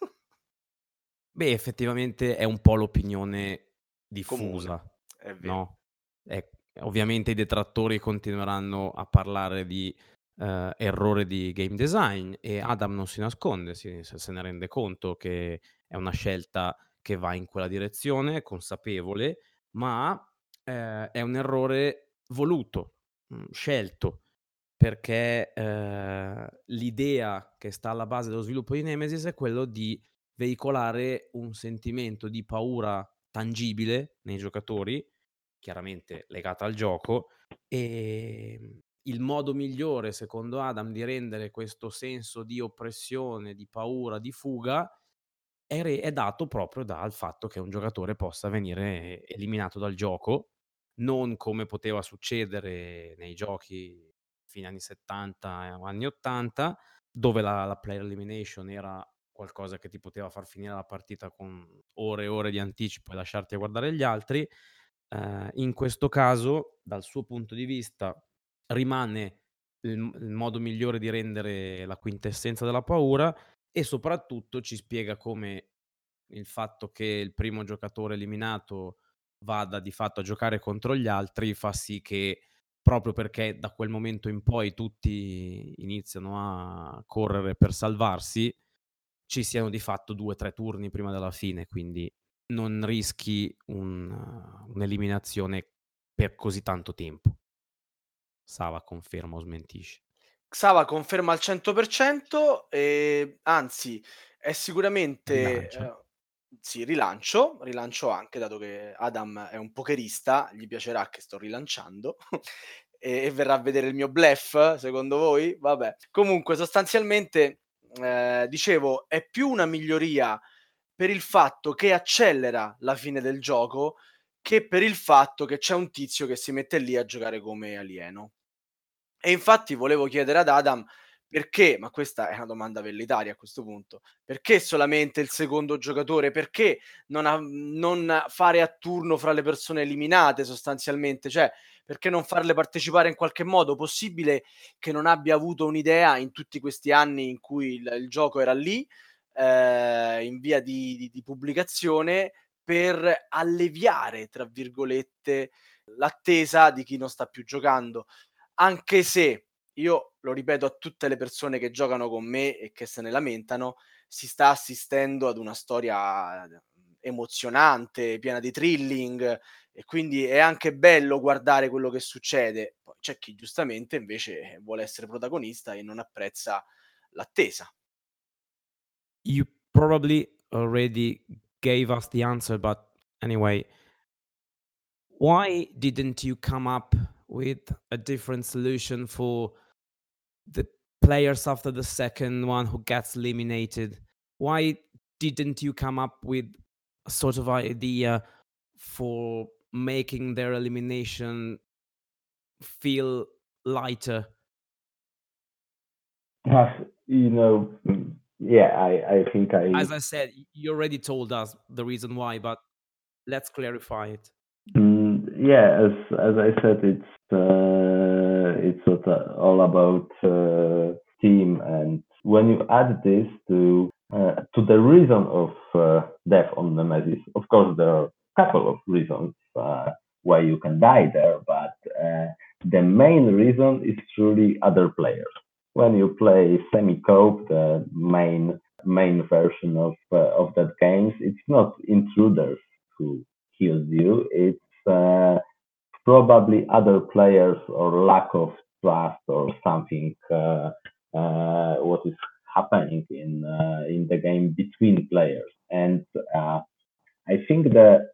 Speaker 2: Beh, effettivamente è un po' l'opinione
Speaker 1: Comune,
Speaker 2: diffusa,
Speaker 1: è vero.
Speaker 2: no, e ovviamente i detrattori continueranno a parlare di, ehm, errore di game design, e Adam non si nasconde, si se se ne rende conto che è una scelta che va in quella direzione, consapevole, ma, ehm, è un errore voluto, mhmm, scelto, perché, ehm, l'idea che sta alla base dello sviluppo di Nemesis è quello di veicolare un sentimento di paura tangibile nei giocatori, chiaramente legata al gioco, ehm, il modo migliore secondo Adam di rendere questo senso di oppressione, di paura, di fuga è re è dato proprio dal fatto che un giocatore possa venire eliminato dal gioco, non come poteva succedere nei giochi fine anni 'settanta o anni 'ottanta, dove la la player elimination era qualcosa che ti poteva far finire la partita con ore e ore di anticipo e lasciarti a guardare gli altri. Ehm, in questo caso, dal suo punto di vista, rimane il m il modo migliore di rendere la quintessenza della paura e soprattutto ci spiega come il fatto che il primo giocatore eliminato vada di fatto a giocare contro gli altri fa sì che, proprio perché da quel momento in poi tutti iniziano a correre per salvarsi, ci siano di fatto due, tre turni prima della fine, quindi non rischi un un'eliminazione per così tanto tempo. Sava conferma o smentisce.
Speaker 1: Xava conferma al cento per cento, ehm, anzi è sicuramente,
Speaker 2: Rilancio?
Speaker 1: ehm sì, rilancio, rilancio anche dato che Adam è un pokerista, gli piacerà che sto rilanciando e e verrà a vedere il mio bluff, secondo voi? Vabbè. Comunque sostanzialmente, ehm, dicevo, è più una miglioria per il fatto che accelera la fine del gioco, che per il fatto che c'è un tizio che si mette lì a giocare come alieno. E infatti volevo chiedere ad Adam perché, ma questa è una domanda velleitaria a questo punto, perché solamente il secondo giocatore? Perché non a non fare a turno fra le persone eliminate sostanzialmente? Cioè, perché non farle partecipare in qualche modo? Possibile che non abbia avuto un'idea in tutti questi anni in cui il il gioco era lì, ehm, in via di di di pubblicazione, per "alleviare" tra virgolette l'attesa di chi non sta più giocando? Anche se, io lo ripeto a tutte le persone che giocano con me e che se ne lamentano, si sta assistendo ad una storia, mhmm, emozionante, piena di thrilling e quindi è anche bello guardare quello che succede. Poi c'è chi giustamente invece, eh, vuole essere protagonista e non apprezza l'attesa.
Speaker 2: You probably already gave us the answer, but anyway, why didn't you come up with a different solution for the players after the second one who gets eliminated? Why didn't you come up with a sort of idea for making their elimination feel lighter?
Speaker 3: You know, mm, yeah, I, I think I,
Speaker 2: As I said, y- you already told us the reason why, but let's clarify it.
Speaker 3: mm, yeah, as as I said, it's uh, it's sort of all about uh, team, and when you add this to uh, to the reason of uh, death on Nemesis, of course there are a couple of reasons uh, why you can die there, but uh, the main reason is truly other players. When you play semi-coop, the main main version of uh, of that games, it's not intruders who kills you. It's uh, probably other players or lack of trust or something. Uh, uh, what is happening in uh, in the game between players, and uh, I think that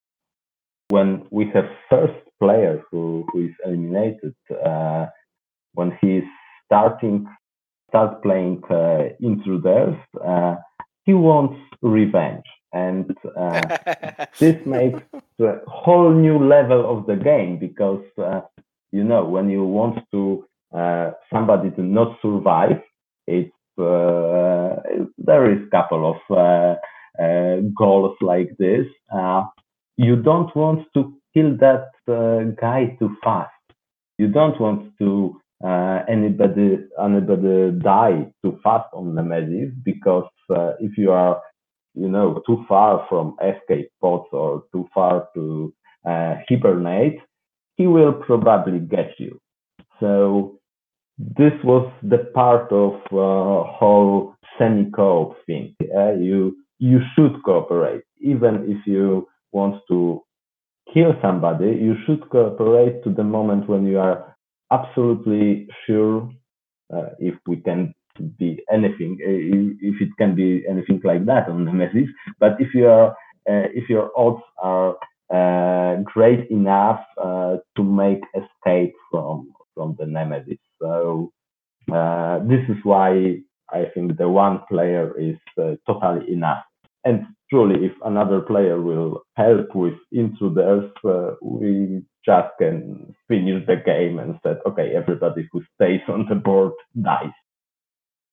Speaker 3: when we have first player who, who is eliminated, uh, when he's starting start playing uh, intruders, uh, he wants revenge, and uh, this makes a whole new level of the game because uh, you know when you want to uh, somebody to not survive, it's uh, there is a couple of uh, uh, goals like this. Uh, you don't want to kill that uh, guy too fast. You don't want to uh, anybody anybody die too fast on Nemesis because uh, if you are you know too far from escape pods or too far to uh, hibernate, he will probably get you. So this was the part of uh, whole semi-co-op thing. Uh, you you should cooperate even if you want to kill somebody, you should cooperate to the moment when you are absolutely sure uh, if we can be anything, uh, if it can be anything like that on Nemesis. But if you are, uh, if your odds are uh, great enough uh, to make escape from from the Nemesis, so uh, this is why I think the one player is uh, totally enough. And truly, if another player will help with intruders, uh, we just can finish the game and said, okay, everybody who stays on the board dies.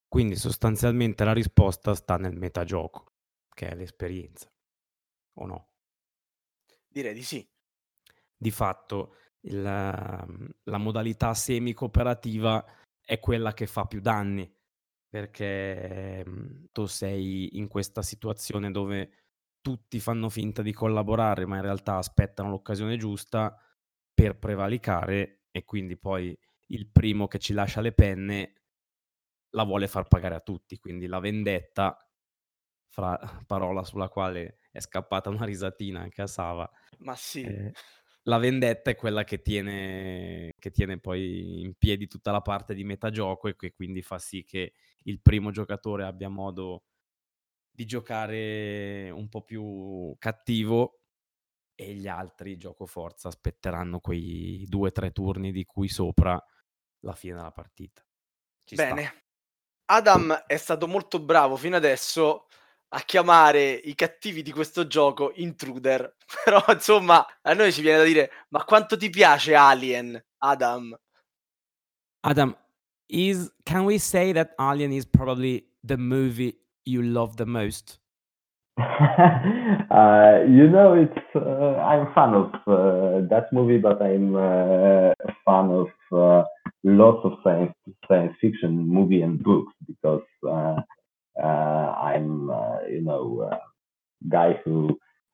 Speaker 2: Quindi sostanzialmente la risposta sta nel metagioco, che è l'esperienza, o no?
Speaker 1: Direi di sì.
Speaker 2: Di fatto il mhmm, la modalità semi-cooperativa è quella che fa più danni, perché, mhmm, tu sei in questa situazione dove tutti fanno finta di collaborare, ma in realtà aspettano l'occasione giusta per prevaricare e quindi poi il primo che ci lascia le penne la vuole far pagare a tutti. Quindi la vendetta, fra parola sulla quale è scappata una risatina anche a Sava,
Speaker 1: Ma sì.
Speaker 2: ehm, la vendetta è quella che tiene che tiene poi in piedi tutta la parte di metagioco e che quindi fa sì che il primo giocatore abbia modo di giocare un po' più cattivo e gli altri, giocoforza, aspetteranno quei due, tre turni di cui sopra la fine della partita. Ci sta.
Speaker 1: Bene. Adam è stato molto bravo fino adesso a chiamare i cattivi di questo gioco intruder. Però insomma, a noi ci viene da dire: "Ma quanto ti piace Alien, Adam?"
Speaker 2: Adam, is can we say that Alien is probably the movie you love the most?
Speaker 3: uh, you know, it's uh, I'm a fan of uh, that movie, but I'm uh, a fan of uh, lots of science science fiction movie and books because uh, uh, I'm uh, you know a guy who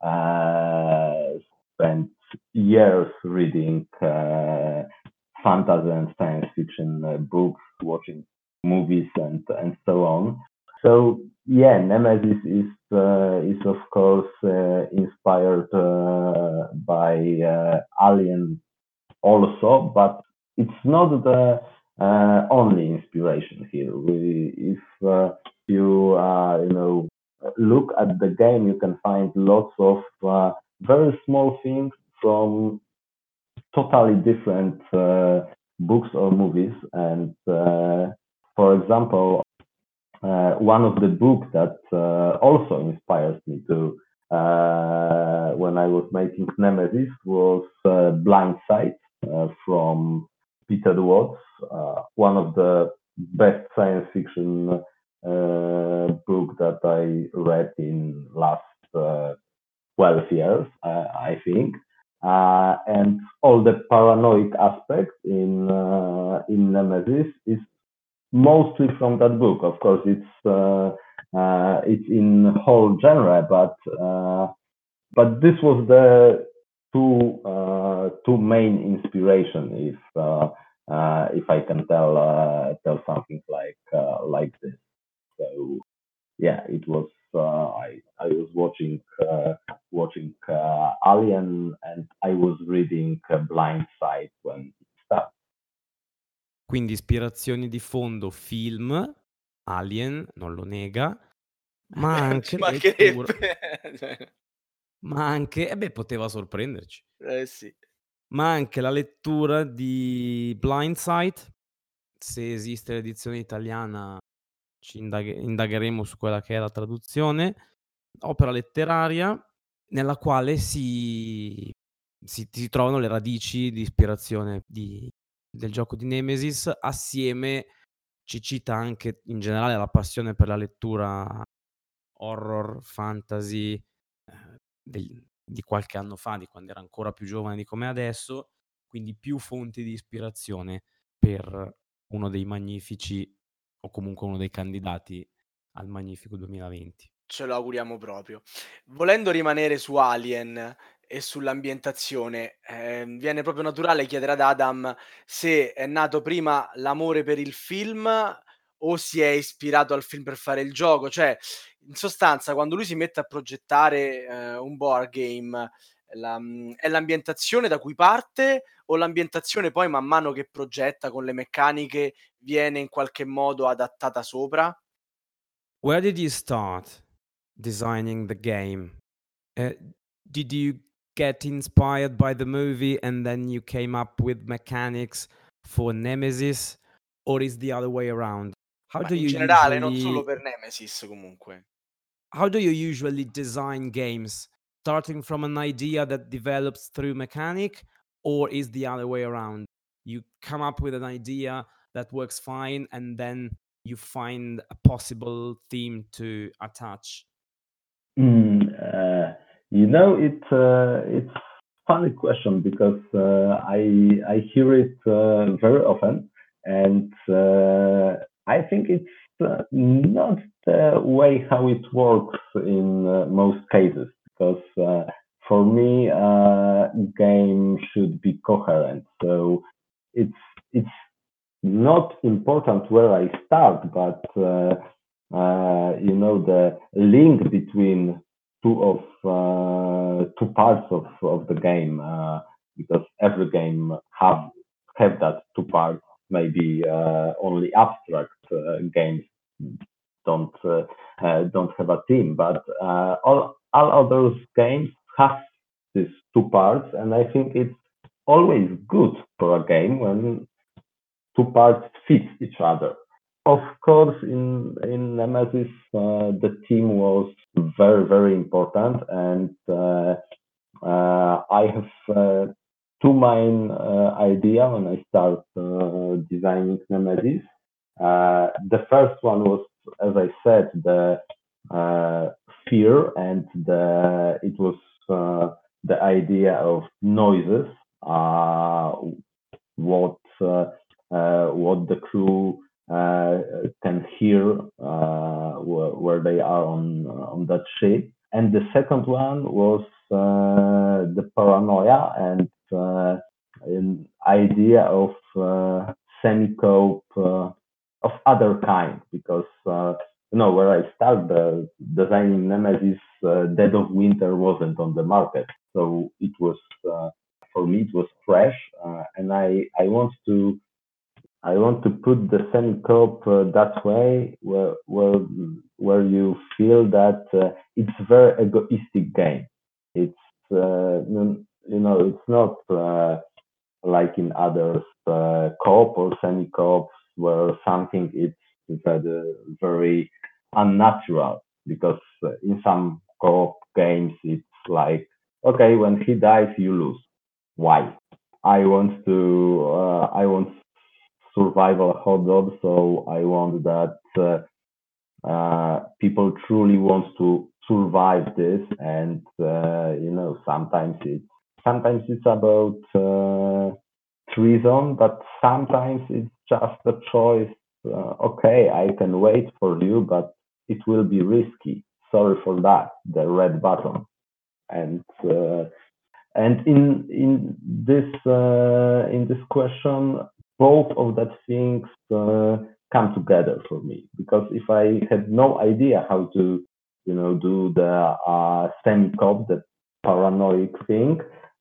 Speaker 3: uh, spent years reading uh, fantasy and science fiction uh, books, watching movies, and and so on. So yeah, Nemesis is uh, is of course uh, inspired uh, by uh, Alien also, but it's not the uh, only inspiration here. We, if uh, you uh, you know look at the game, you can find lots of uh, very small things from totally different uh, books or movies. And uh, for example, uh, one of the books that uh, also inspires me to uh, when I was making Nemesis was uh, Blind Sight uh, from Peter Watts, uh, one of the best science fiction uh, book that I read in last uh, twelve years, uh, I think. Uh, and all the paranoid aspects in uh, in Nemesis is mostly from that book. Of course, it's uh, uh, it's in whole genre, but uh, but this was the two uh, two main inspiration. If uh, uh, if I can tell uh, tell something like uh, like this, so yeah, it was. Uh, I I was watching uh, watching uh, Alien, and I was reading uh, Blind Side when it started.
Speaker 2: Quindi ispirazioni di fondo, film, Alien, non lo nega, ma anche
Speaker 1: Ci
Speaker 2: la lettura
Speaker 1: mancherebbe. Cioè,
Speaker 2: ma anche eh beh, poteva sorprenderci.
Speaker 1: eh sì.
Speaker 2: Ma anche la lettura di Blind Sight, se esiste l'edizione italiana ci indaghe indagheremo su quella che è la traduzione, opera letteraria nella quale si si si trovano le radici di ispirazione di del gioco di Nemesis, assieme ci cita anche in generale la passione per la lettura horror, fantasy, ehm, del di qualche anno fa, di quando era ancora più giovane di com'è adesso, quindi più fonti di ispirazione per uno dei magnifici o comunque uno dei candidati al magnifico duemilaventi.
Speaker 1: Ce lo auguriamo proprio. Volendo rimanere su Alien e sull'ambientazione, ehm, viene proprio naturale chiedere ad Adam se è nato prima l'amore per il film o si è ispirato al film per fare il gioco. Cioè, in sostanza, quando lui si mette a progettare, ehm, un board game, la mhmm, è l'ambientazione da cui parte o l'ambientazione poi man mano che progetta con le meccaniche viene in qualche modo adattata sopra?
Speaker 2: Where did you start designing the game? Uh, did you get inspired by the movie and then you came up with mechanics for Nemesis, or is the other way around? How
Speaker 1: Ma
Speaker 2: do
Speaker 1: in
Speaker 2: you
Speaker 1: generale, non solo
Speaker 2: usually
Speaker 1: per Nemesis comunque.
Speaker 2: how do you usually design games? Starting from an idea that develops through mechanic, or is the other way around? You come up with an idea that works fine and then you find a possible theme to attach?
Speaker 3: Mm, uh, you know, it's uh, it's funny question because uh, I I hear it uh, very often, and uh, I think it's uh, not the way how it works in uh, most cases. Because uh, for me, uh, game should be coherent. So it's it's not important where I start, but uh, uh, you know the link between two of uh, two parts of, of the game, uh, because every game have have that two parts. Maybe uh, only abstract uh, games don't uh, uh, don't have a team, but uh, all all of those games have these two parts, and I think it's always good for a game when two parts fit each other. Of course, in in Nemesis, uh, the team was very very important, and uh, uh, I have uh, two main uh, idea when I start uh, designing Nemesis. Uh, the first one was, as I said, the uh, fear, and the it was uh, the idea of noises. Uh, what uh, uh, what the crew uh, can hear uh, where, where they are on on that ship. And the second one was uh, the paranoia and uh, an idea of uh, semi-cope uh, of other kind, because uh, you know where I started uh, designing Nemesis, uh, Dead of Winter wasn't on the market, so it was uh, for me it was fresh, uh, and I I want to I want to put the semi-coop uh, that way, where where where you feel that uh, it's a very egoistic game. It's uh, you know it's not uh, like in others uh, co-op or semi-co-op where something is very, very unnatural, because uh, in some co-op games it's like, okay, when he dies you lose. Why? I want to uh, I want survival hot dog, so I want that uh, uh, people truly want to survive this, and uh, you know sometimes it's sometimes it's about uh, treason, but sometimes it's just a choice. Uh, okay, I can wait for you, but it will be risky. Sorry for that. The red button, and uh, and in in this uh, in this question, both of that things uh, come together for me. Because if I had no idea how to, you know, do the uh, semi-cop, the paranoid thing,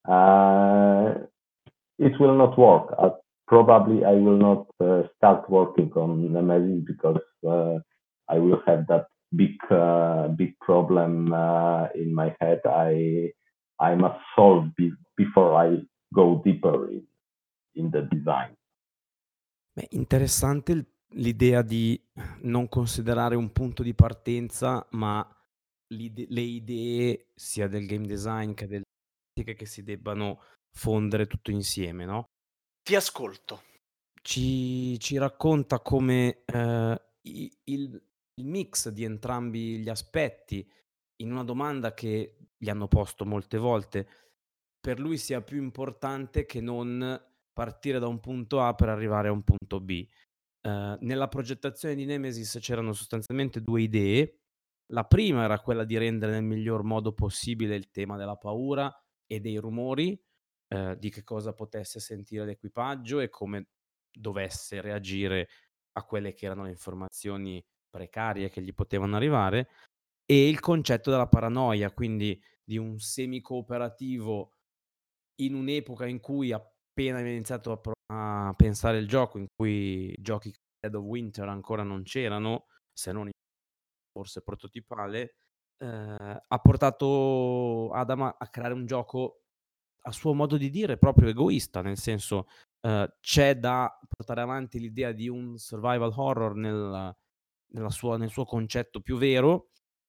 Speaker 3: uh, it will not work. Uh, probably I will not uh, start working on Nemesis, because uh, I will have that big uh, big problem uh, in my head. I I must solve be- before I go deeper in, in the design.
Speaker 2: Beh, interessante il- l'idea di non considerare un punto di partenza, ma l'ide- le idee sia del game design che delle tecniche che si debbano fondere tutto insieme, no?
Speaker 1: Ti ascolto.
Speaker 2: Ci, ci racconta come eh, i- il, il mix di entrambi gli aspetti, in una domanda che gli hanno posto molte volte, per lui sia più importante che non partire da un punto A per arrivare a un punto B. Eh, nella progettazione di Nemesis c'erano sostanzialmente due idee. La prima era quella di rendere nel miglior modo possibile il tema della paura e dei rumori, eh, di che cosa potesse sentire l'equipaggio e come dovesse reagire a quelle che erano le informazioni precarie che gli potevano arrivare, e il concetto della paranoia, quindi di un semi-cooperativo in un'epoca in cui appena aveva iniziato a, pro- a pensare il gioco, in cui giochi come Dead of Winter ancora non c'erano, se non in forse prototipale, eh, ha portato Adam a a creare un gioco a suo modo di dire proprio egoista, nel senso, eh, c'è da portare avanti l'idea di un survival horror nel, nella sua- nel suo concetto più vero,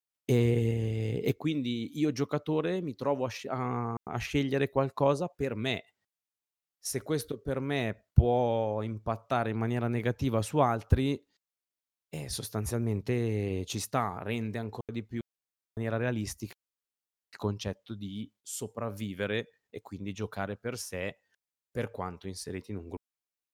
Speaker 2: e, e quindi io giocatore mi trovo a, sci- a- a scegliere qualcosa per me. Se questo per me può impattare in maniera negativa su altri, E sostanzialmente ci sta, rende ancora di più in maniera realistica il concetto di sopravvivere e quindi giocare per sé, per quanto inseriti in un gruppo.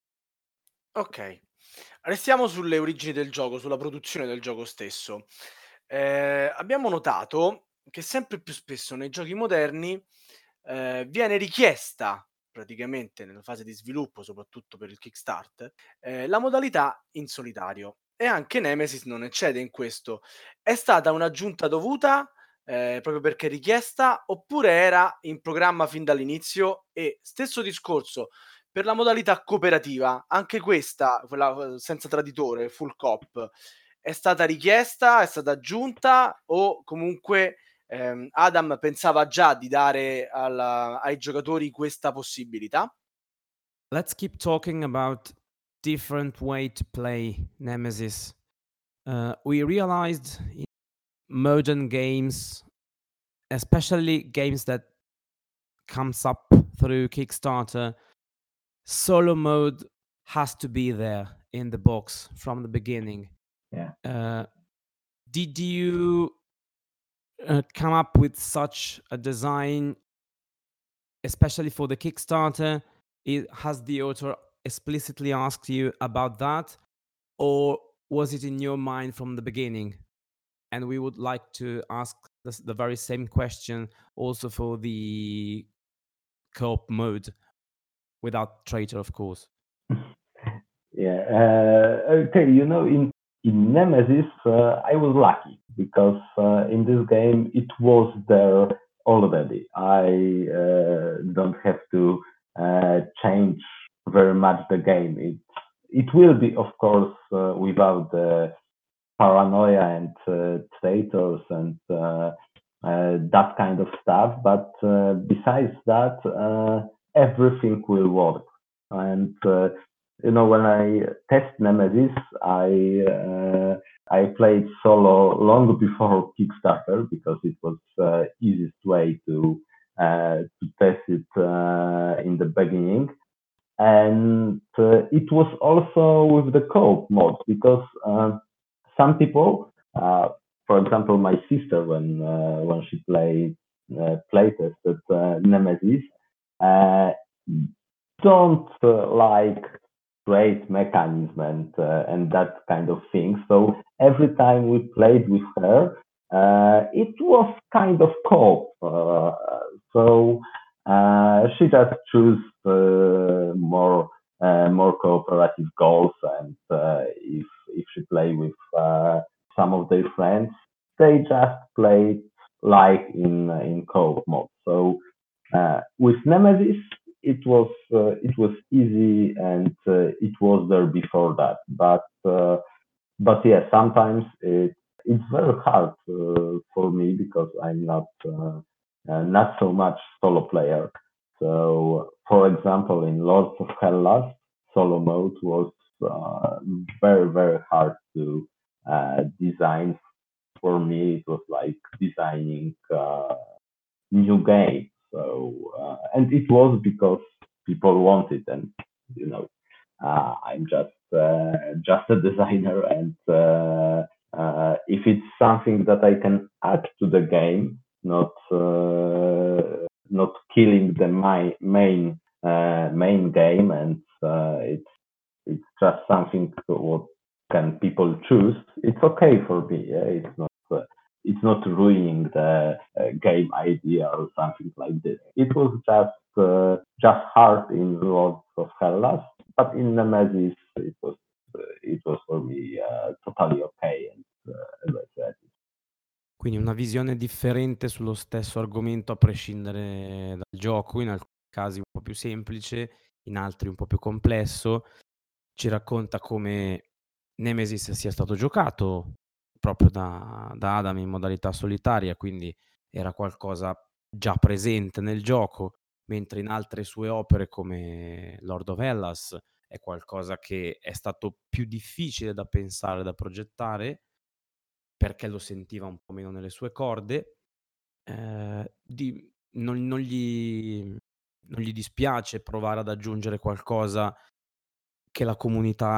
Speaker 1: Okay. Restiamo sulle origini del gioco, sulla produzione del gioco stesso. Ehm, abbiamo notato che sempre più spesso nei giochi moderni, ehm, viene richiesta, praticamente nella fase di sviluppo, soprattutto per il kickstart, ehm, la modalità in solitario e anche Nemesis non eccede in questo. È stata un'aggiunta dovuta, ehm, proprio perché richiesta, oppure era in programma fin dall'inizio? E stesso discorso per la modalità cooperativa, anche questa, quella uhm, senza traditore, full coop, è stata richiesta, è stata aggiunta o comunque, ehm, Adam pensava già di dare alla ai giocatori questa possibilità?
Speaker 2: Let's keep talking about different way to play Nemesis. Uh, we realized in modern games, especially games that comes up through Kickstarter, solo mode has to be there in the box from the beginning.
Speaker 3: Yeah.
Speaker 2: Uh, did you uh, come up with such a design, especially for the Kickstarter? It, has the author explicitly asked you about that, or was it in your mind from the beginning? And we would like to ask the, the very same question also for the co-op mode, without traitor, of course.
Speaker 3: Yeah. Uh, okay. You know, in in Nemesis, uh, I was lucky because uh, in this game it was there already. I uh, don't have to uh, change very much the game. It it will be, of course, uh, without the paranoia and uh, traitors and uh, uh, that kind of stuff. But uh, besides that, uh, everything will work. And uh, you know, when I test Nemesis, I uh, I played solo long before Kickstarter because it was uh, easiest way to uh, to test it uh, in the beginning. And uh, it was also with the co-op mode because uh, some people, uh, for example, my sister, when uh, when she played uh, playtested uh, Nemesis, uh, don't uh, like trade mechanism and uh, and that kind of thing. So every time we played with her, uh, it was kind of co-op. Uh, so uh, she just choose uh, more uh, more cooperative goals, and uh, if if she play with uh, some of their friends, they just play like in in co-op mode. So uh, with Nemesis, it was uh, it was easy and uh, it was there before that. But uh, but yeah, sometimes it it's very hard uh, for me because I'm not uh, uh, not so much solo player. So for example, in Lords of Hellas, solo mode was uh, very very hard to uh, design. For me, it was like designing uh, new game. So uh, and it was because people want it, and you know, uh, I'm just uh, just a designer, and uh, uh, if it's something that I can add to the game, not uh, not killing the my main uh, main game, and uh, it's it's just something what can people choose. It's okay for me. Yeah? It's not uh, it's not ruining the uh, game idea or something like this. It was just uh, just hard in Lords of Hellas, but in Nemesis it was uh, it was for me uh, totally okay. And uh, as I said,
Speaker 2: Quindi una visione differente sullo stesso argomento a prescindere dal gioco, in alcuni casi un po' più semplice, in altri un po' più complesso. Ci racconta come Nemesis sia stato giocato proprio da da Adam in modalità solitaria, quindi era qualcosa già presente nel gioco, mentre in altre sue opere come Lord of Hellas è qualcosa che è stato più difficile da pensare, da progettare, perché lo sentiva un po' meno nelle sue corde. Ehm, di non non gli non gli dispiace provare ad aggiungere qualcosa che la comunità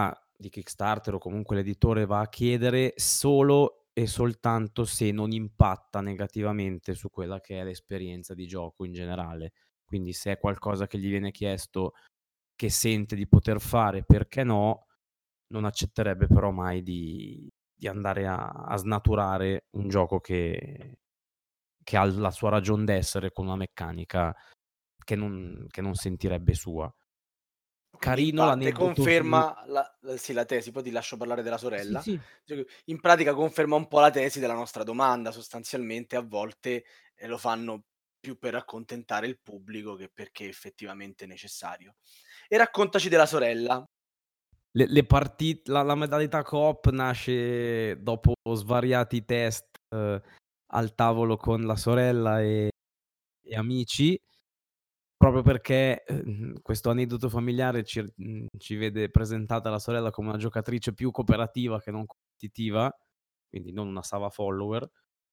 Speaker 2: di Kickstarter o comunque l'editore va a chiedere solo e soltanto se non impatta negativamente su quella che è l'esperienza di gioco in generale. Quindi se è qualcosa che gli viene chiesto che sente di poter fare, perché no, non accetterebbe però mai di di andare a a snaturare un gioco che che ha la sua ragion d'essere con una meccanica che non che non sentirebbe sua.
Speaker 1: Quindi in
Speaker 2: Carino
Speaker 1: parte
Speaker 2: l'aneddoto su
Speaker 1: conferma la l sì, la tesi, poi ti lascio parlare della
Speaker 2: Sì,
Speaker 1: sorella.
Speaker 2: sì.
Speaker 1: Cioè che in pratica conferma un po' la tesi della nostra domanda, sostanzialmente a volte, ehm, lo fanno più per accontentare il pubblico che perché effettivamente è necessario. E raccontaci della sorella.
Speaker 2: Le le partit la la modalità coop nasce dopo svariati test eh, al tavolo con la sorella e e amici, proprio perché, ehm, questo aneddoto familiare ci r mhmm, ci vede presentata la sorella come una giocatrice più cooperativa che non competitiva, quindi non una Sava follower.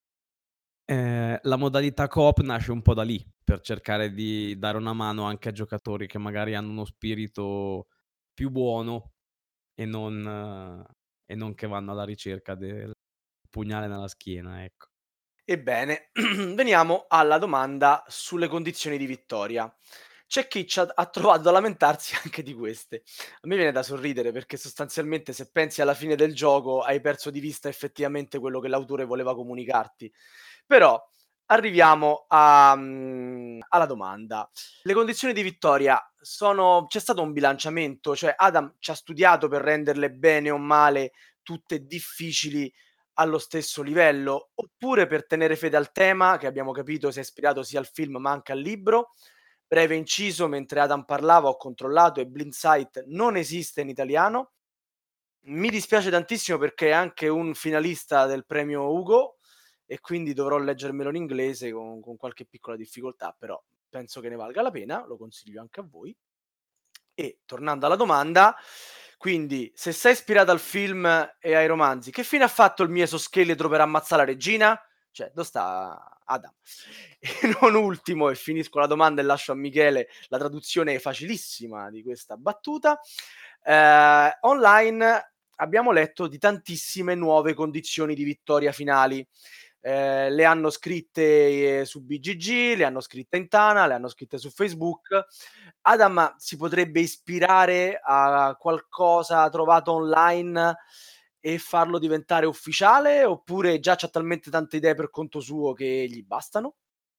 Speaker 2: Ehm, la modalità coop nasce un po' da lì, per cercare di dare una mano anche a giocatori che magari hanno uno spirito più buono e non e non che vanno alla ricerca del pugnale nella schiena, ecco.
Speaker 1: Ebbene, veniamo alla domanda sulle condizioni di vittoria. C'è chi ci ha ha trovato da lamentarsi anche di queste. A me viene da sorridere perché sostanzialmente se pensi alla fine del gioco hai perso di vista effettivamente quello che l'autore voleva comunicarti. Però arriviamo a mhmm, alla domanda. Le condizioni di vittoria sono c'è stato un bilanciamento? Cioè Adam ci ha studiato per renderle bene o male tutte difficili allo stesso livello, oppure per tenere fede al tema, che abbiamo capito si è ispirato sia al film ma anche al libro. Breve inciso, mentre Adam parlava ho controllato e Blind Sight non esiste in italiano. Mi dispiace tantissimo perché è anche un finalista del premio Hugo e quindi dovrò leggermelo in inglese con, con qualche piccola difficoltà, però penso che ne valga la pena, lo consiglio anche a voi. E tornando alla domanda, quindi se sei ispirato al film e ai romanzi, che fine ha fatto il mio esoscheletro per ammazzare la regina? Cioè, dove sta Adam? E non ultimo, e finisco la domanda e lascio a Michele la traduzione facilissima di questa battuta. Eh, online abbiamo letto di tantissime nuove condizioni di vittoria finali. Eh, le hanno scritte eh, su B G G, le hanno scritte in Tana, le hanno scritte su Facebook. Adam si potrebbe ispirare a qualcosa trovato online e farlo diventare ufficiale, oppure già c'ha talmente tante idee per conto suo che gli bastano?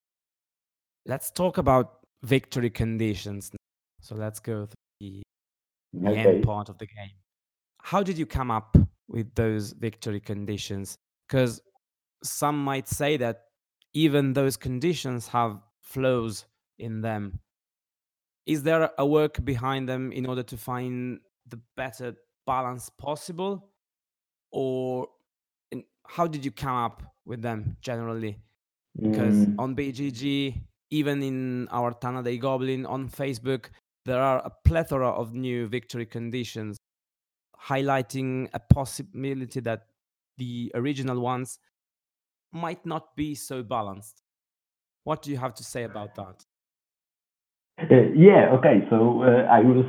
Speaker 2: Let's talk about victory conditions. So let's go through the the end
Speaker 3: Okay.
Speaker 2: part of the game. How did you come up with those victory conditions? Because some might say that even those conditions have flaws in them. Is there a work behind them in order to find the better balance possible? Or in, how did you come up with them generally? Because
Speaker 3: Mm,
Speaker 2: on B G G, even in our Tana Day Goblin on Facebook, there are a plethora of new victory conditions, highlighting a possibility that the original ones might not be so balanced. What do you have to say about that?
Speaker 3: uh, yeah, okay. So uh, I will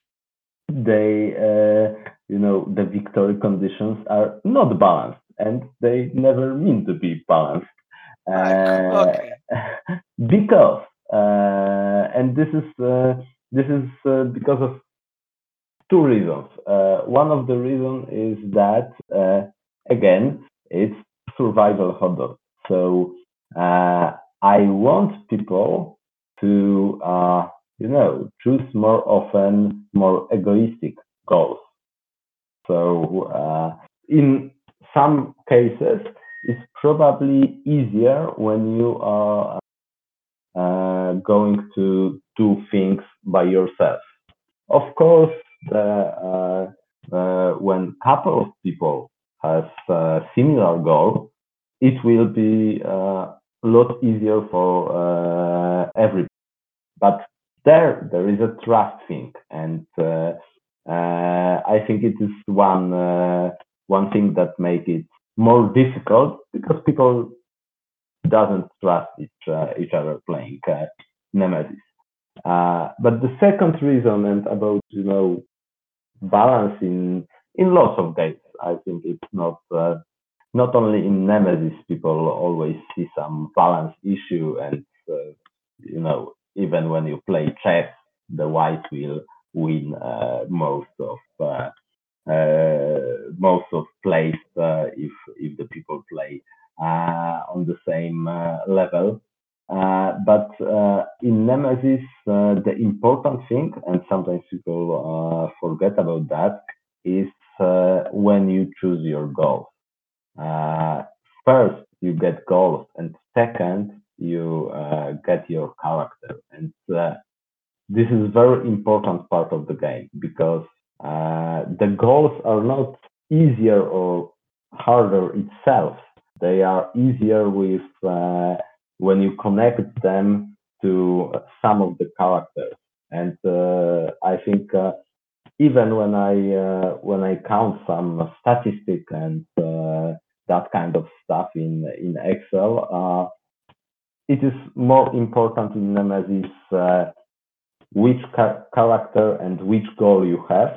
Speaker 3: they uh, you know the victory conditions are not balanced and they never mean to be balanced
Speaker 1: Ah, ecco,
Speaker 3: uh,
Speaker 1: okay.
Speaker 3: because uh, and this is uh, this is uh, because of two reasons. Uh, one of the reasons is that uh, again it's survival horror. So uh, I want people to uh, you know choose more often more egoistic goals. So uh, in some cases, it's probably easier when you are uh, going to do things by yourself. Of course, the, uh, uh, when couple of people has a similar goal, it will be uh, a lot easier for uh, everybody. But there, there is a trust thing, and uh, uh, I think it is one uh, one thing that make it more difficult because people doesn't trust each uh, each other playing uh, Nemesis. Uh, but the second reason, and about you know balance in in lots of games. I think it's not uh, not only in Nemesis. People always see some balance issue, and uh, you know, even when you play chess, the white will win uh, most of uh, uh, most of plays uh, if if the people play uh, on the same uh, level. Uh, but uh, in Nemesis, uh, the important thing, and sometimes people uh, forget about that, is uh, when you choose your goals. Uh, first, you get goals, and second, you uh, get your character. And uh, this is a very important part of the game because uh, the goals are not easier or harder itself. They are easier with uh, when you connect them to some of the characters. And uh, I think uh, even when I uh, when I count some statistic and uh, that kind of stuff in in Excel, uh, it is more important in Nemesis uh, which ca- character and which goal you have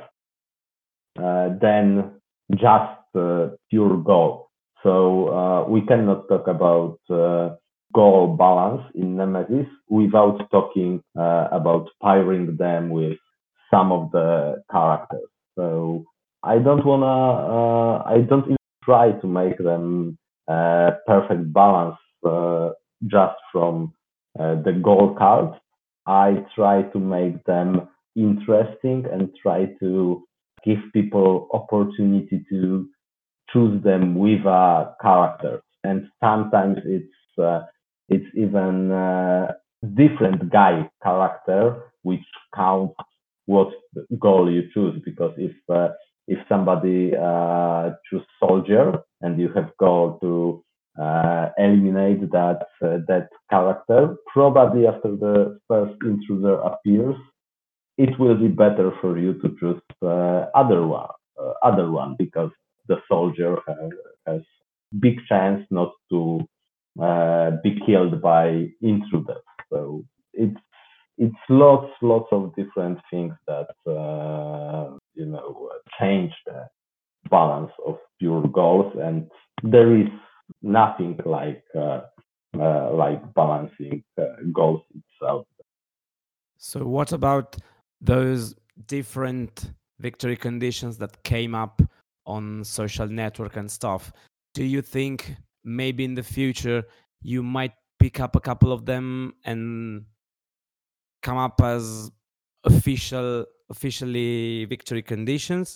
Speaker 3: uh, than just uh, pure goal. So uh, we cannot talk about uh, goal balance in Nemesis without talking uh, about pairing them with some of the characters. So I don't wanna, uh, I don't even try to make them uh, perfect balance uh, just from uh, the goal cards. I try to make them interesting and try to give people opportunity to choose them with a character. And sometimes it's uh, it's even uh, different guy character which counts what goal you choose. Because if uh, if somebody uh, choose soldier and you have goal to uh, eliminate that uh, that character, probably after the first intruder appears, it will be better for you to choose uh, other one, uh, other one, because the soldier has, has big chance not to uh, be killed by intruders. So it's it's lots lots of different things that uh, you know change the balance of pure goals, and there is nothing like uh, uh, like balancing uh, goals itself.
Speaker 2: So what about those different victory conditions that came up on social network and stuff? Do you think maybe in the future you might pick up a couple of them and come up as official officially victory conditions?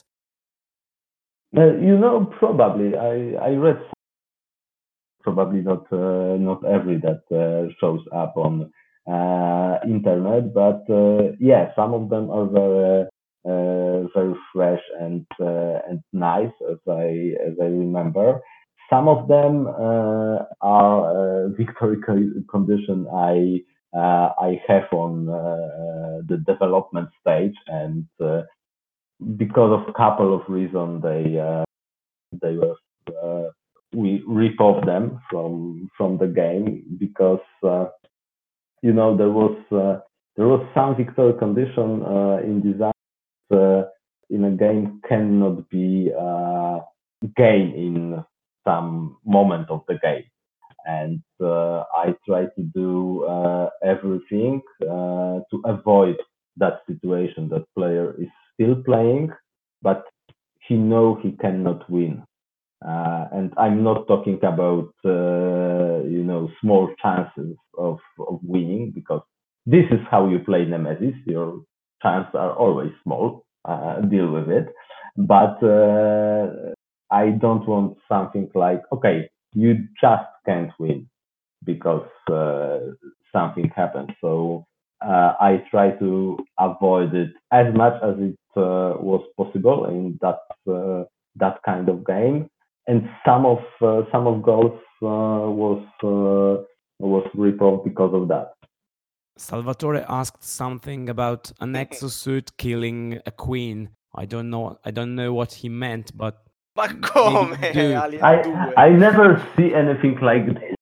Speaker 3: Uh, you know, probably I I read probably not uh, not every that uh, shows up on uh, internet, but uh, yeah, some of them are very uh, very fresh and uh, and nice, as I as I remember. Some of them uh, are uh, victory co- condition I uh, I have on uh, the development stage, and uh, because of a couple of reasons they uh, they were uh, we rip off them from from the game because uh, you know there was uh, there was some victory condition uh, in design uh, in a game cannot be uh, gained in some moment of the game, and uh, I try to do uh, everything uh, to avoid that situation that player is still playing but he know he cannot win. Uh, and I'm not talking about uh, you know small chances of, of winning, because this is how you play Nemesis. Your chances are always small. Uh, deal with it. But uh, I don't want something like, okay, you just can't win because uh, something happened. So uh, I try to avoid it as much as it uh, was possible in that uh, that kind of game. And some of uh, some of goals uh, was uh, was reproved because of that.
Speaker 2: Salvatore asked something about an exosuit killing a queen. I don't know. I don't know what he meant, but
Speaker 1: Ma
Speaker 2: maybe
Speaker 1: come,
Speaker 2: you do.
Speaker 1: Alien
Speaker 3: I
Speaker 1: due?
Speaker 3: I never see anything like this.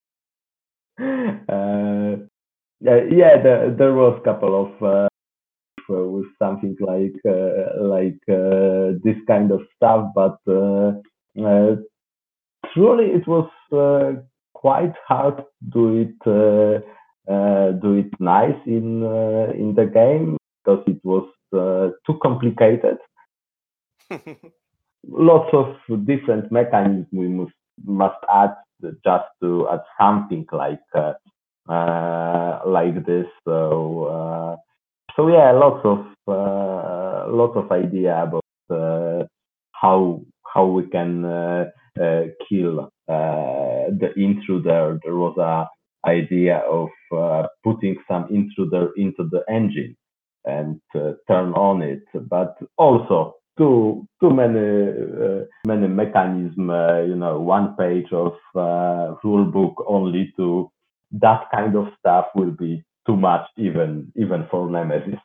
Speaker 3: Uh, yeah, yeah, there, there was a couple of uh, with something like uh, like uh, this kind of stuff, but uh, uh, truly it was uh, quite hard to do it uh, uh, do it nice in uh, in the game because it was uh, too complicated. Lots of different mechanisms we must must add just to add something like uh, uh, like this. So uh, so yeah, lots of uh, lots of idea about uh, how how we can uh, uh, kill uh, the intruder. There was a idea of uh, putting some intruder into the engine and uh, turn on it, but also too too many uh, many mechanism. Uh, you know, one page of uh, rule book only to that kind of stuff will be too much, even even for Nemesis.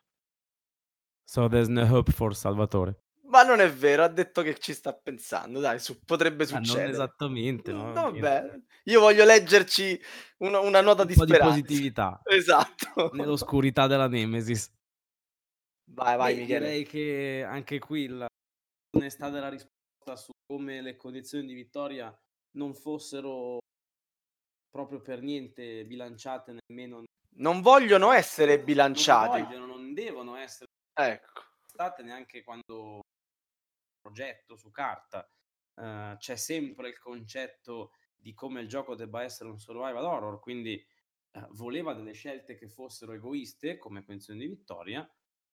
Speaker 2: So there's no hope for Salvatore.
Speaker 1: Ma non è vero, ha detto che ci sta pensando, dai, su, potrebbe
Speaker 2: Ah, non
Speaker 1: succedere.
Speaker 2: esattamente,
Speaker 1: Mm,
Speaker 2: no?
Speaker 1: Vabbè, io voglio leggerci una, una nota
Speaker 2: Un
Speaker 1: di
Speaker 2: po' di
Speaker 1: speranza.
Speaker 2: positività
Speaker 1: Esatto.
Speaker 2: nell'oscurità della Nemesis.
Speaker 1: Vai, vai,
Speaker 2: Beh,
Speaker 1: Michele.
Speaker 2: direi che anche qui la onestà della risposta su come le condizioni di vittoria non fossero proprio per niente bilanciate, nemmeno
Speaker 1: Non vogliono essere
Speaker 2: non
Speaker 1: bilanciati.
Speaker 2: vogliono, non devono essere
Speaker 1: Ecco.
Speaker 2: state neanche quando progetto su carta. Uh, c'è sempre il concetto di come il gioco debba essere un survival horror, quindi uh, voleva delle scelte che fossero egoiste come condizione di vittoria,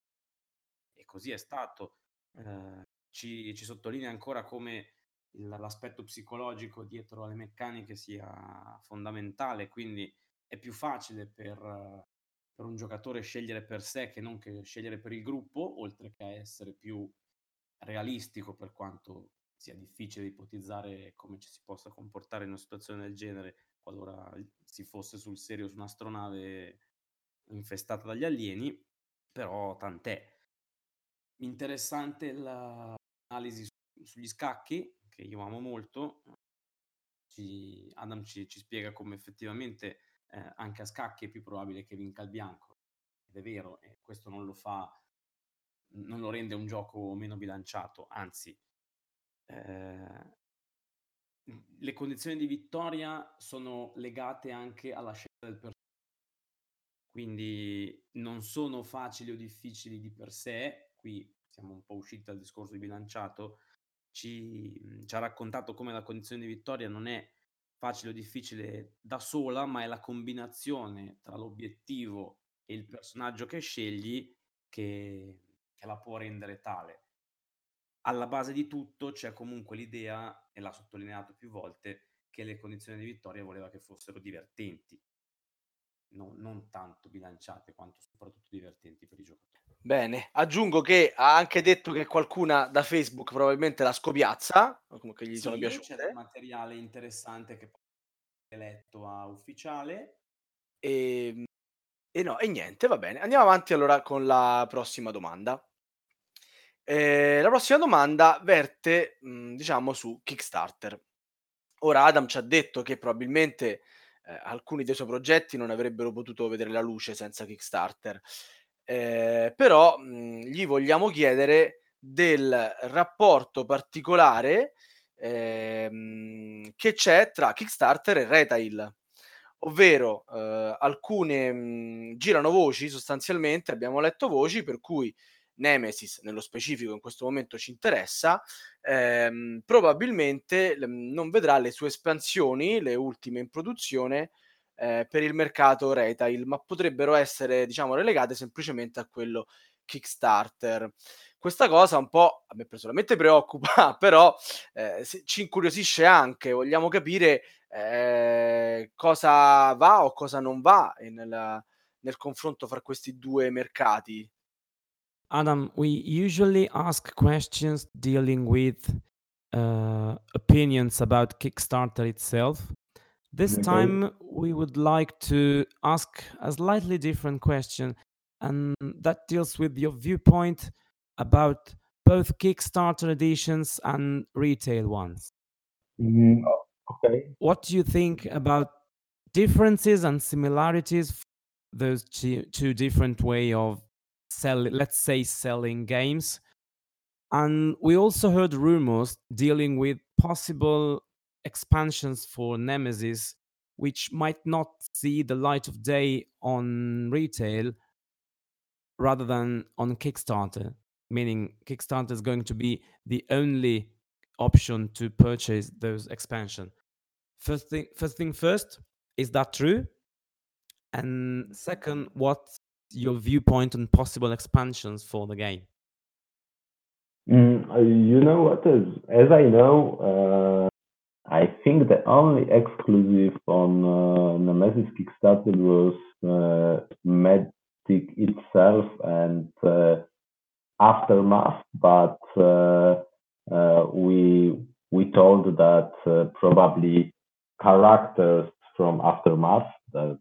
Speaker 2: e così è stato. Uh, ci, ci sottolinea ancora come il, l'aspetto psicologico dietro alle meccaniche sia fondamentale, quindi è più facile per, uh, per un giocatore scegliere per sé che non che scegliere per il gruppo, oltre che essere più realistico, per quanto sia difficile ipotizzare come ci si possa comportare in una situazione del genere qualora si fosse sul serio su un'astronave infestata dagli alieni, però tant'è. Interessante l'analisi sugli scacchi, che io amo molto. Ci, Adam ci, ci spiega come effettivamente eh, anche a scacchi è più probabile che vinca il bianco, ed è vero, e questo non lo fa non lo rende un gioco meno bilanciato, anzi eh, le condizioni di vittoria sono legate anche alla scelta del personaggio, quindi non sono facili o difficili di per sé. Qui siamo un po' usciti dal discorso di bilanciato. Ci, ci ha raccontato come la condizione di vittoria non è facile o difficile da sola, ma è la combinazione tra l'obiettivo e il personaggio che scegli che che la può rendere tale. Alla base di tutto c'è comunque l'idea, e l'ha sottolineato più volte, che le condizioni di vittoria voleva che fossero divertenti, non, non tanto bilanciate quanto soprattutto divertenti per i giocatori.
Speaker 1: Bene, aggiungo che ha anche detto che qualcuna da Facebook probabilmente la scopiazza, comunque gli
Speaker 2: sì,
Speaker 1: sono piaciute.
Speaker 2: C'è del materiale interessante che può essere letto a ufficiale.
Speaker 1: E, e no, e niente, va bene. Andiamo avanti allora con la prossima domanda. Eh, la prossima domanda verte, mh, diciamo, su Kickstarter. Ora Adam ci ha detto che probabilmente eh, alcuni dei suoi progetti non avrebbero potuto vedere la luce senza Kickstarter. Eh, però mh, gli vogliamo chiedere del rapporto particolare ehm, che c'è tra Kickstarter e Retail, ovvero eh, alcune mh, girano voci, sostanzialmente abbiamo letto voci per cui Nemesis, nello specifico in questo momento ci interessa, ehm, probabilmente l- non vedrà le sue espansioni, le ultime in produzione, eh, per il mercato retail, ma potrebbero essere, diciamo, relegate semplicemente a quello Kickstarter. Questa cosa un po' a me personalmente preoccupa, però eh, se- ci incuriosisce anche. Vogliamo capire eh, cosa va o cosa non va nel, nel confronto fra questi due mercati.
Speaker 2: Adam, we usually ask questions dealing with uh, opinions about Kickstarter itself. This
Speaker 3: Okay.
Speaker 2: time we would like to ask a slightly different question, and that deals with your viewpoint about both Kickstarter editions and retail ones.
Speaker 3: Mm, o- okay.
Speaker 2: What do you think about differences and similarities, those two, two different way of sell, let's say, selling games. And we also heard rumors dealing with possible expansions for Nemesis, which might not see the light of day on retail rather than on Kickstarter, meaning Kickstarter is going to be the only option to purchase those expansion. First thing, first thing first, is that true? And second, what's your viewpoint on possible expansions for the game?
Speaker 3: Mm, uh, you know what is, as I know, uh, I think the only exclusive on uh, Nemesis Kickstarter was uh, Medic itself and uh, Aftermath, but uh, uh, we we told that uh, probably characters from Aftermath, that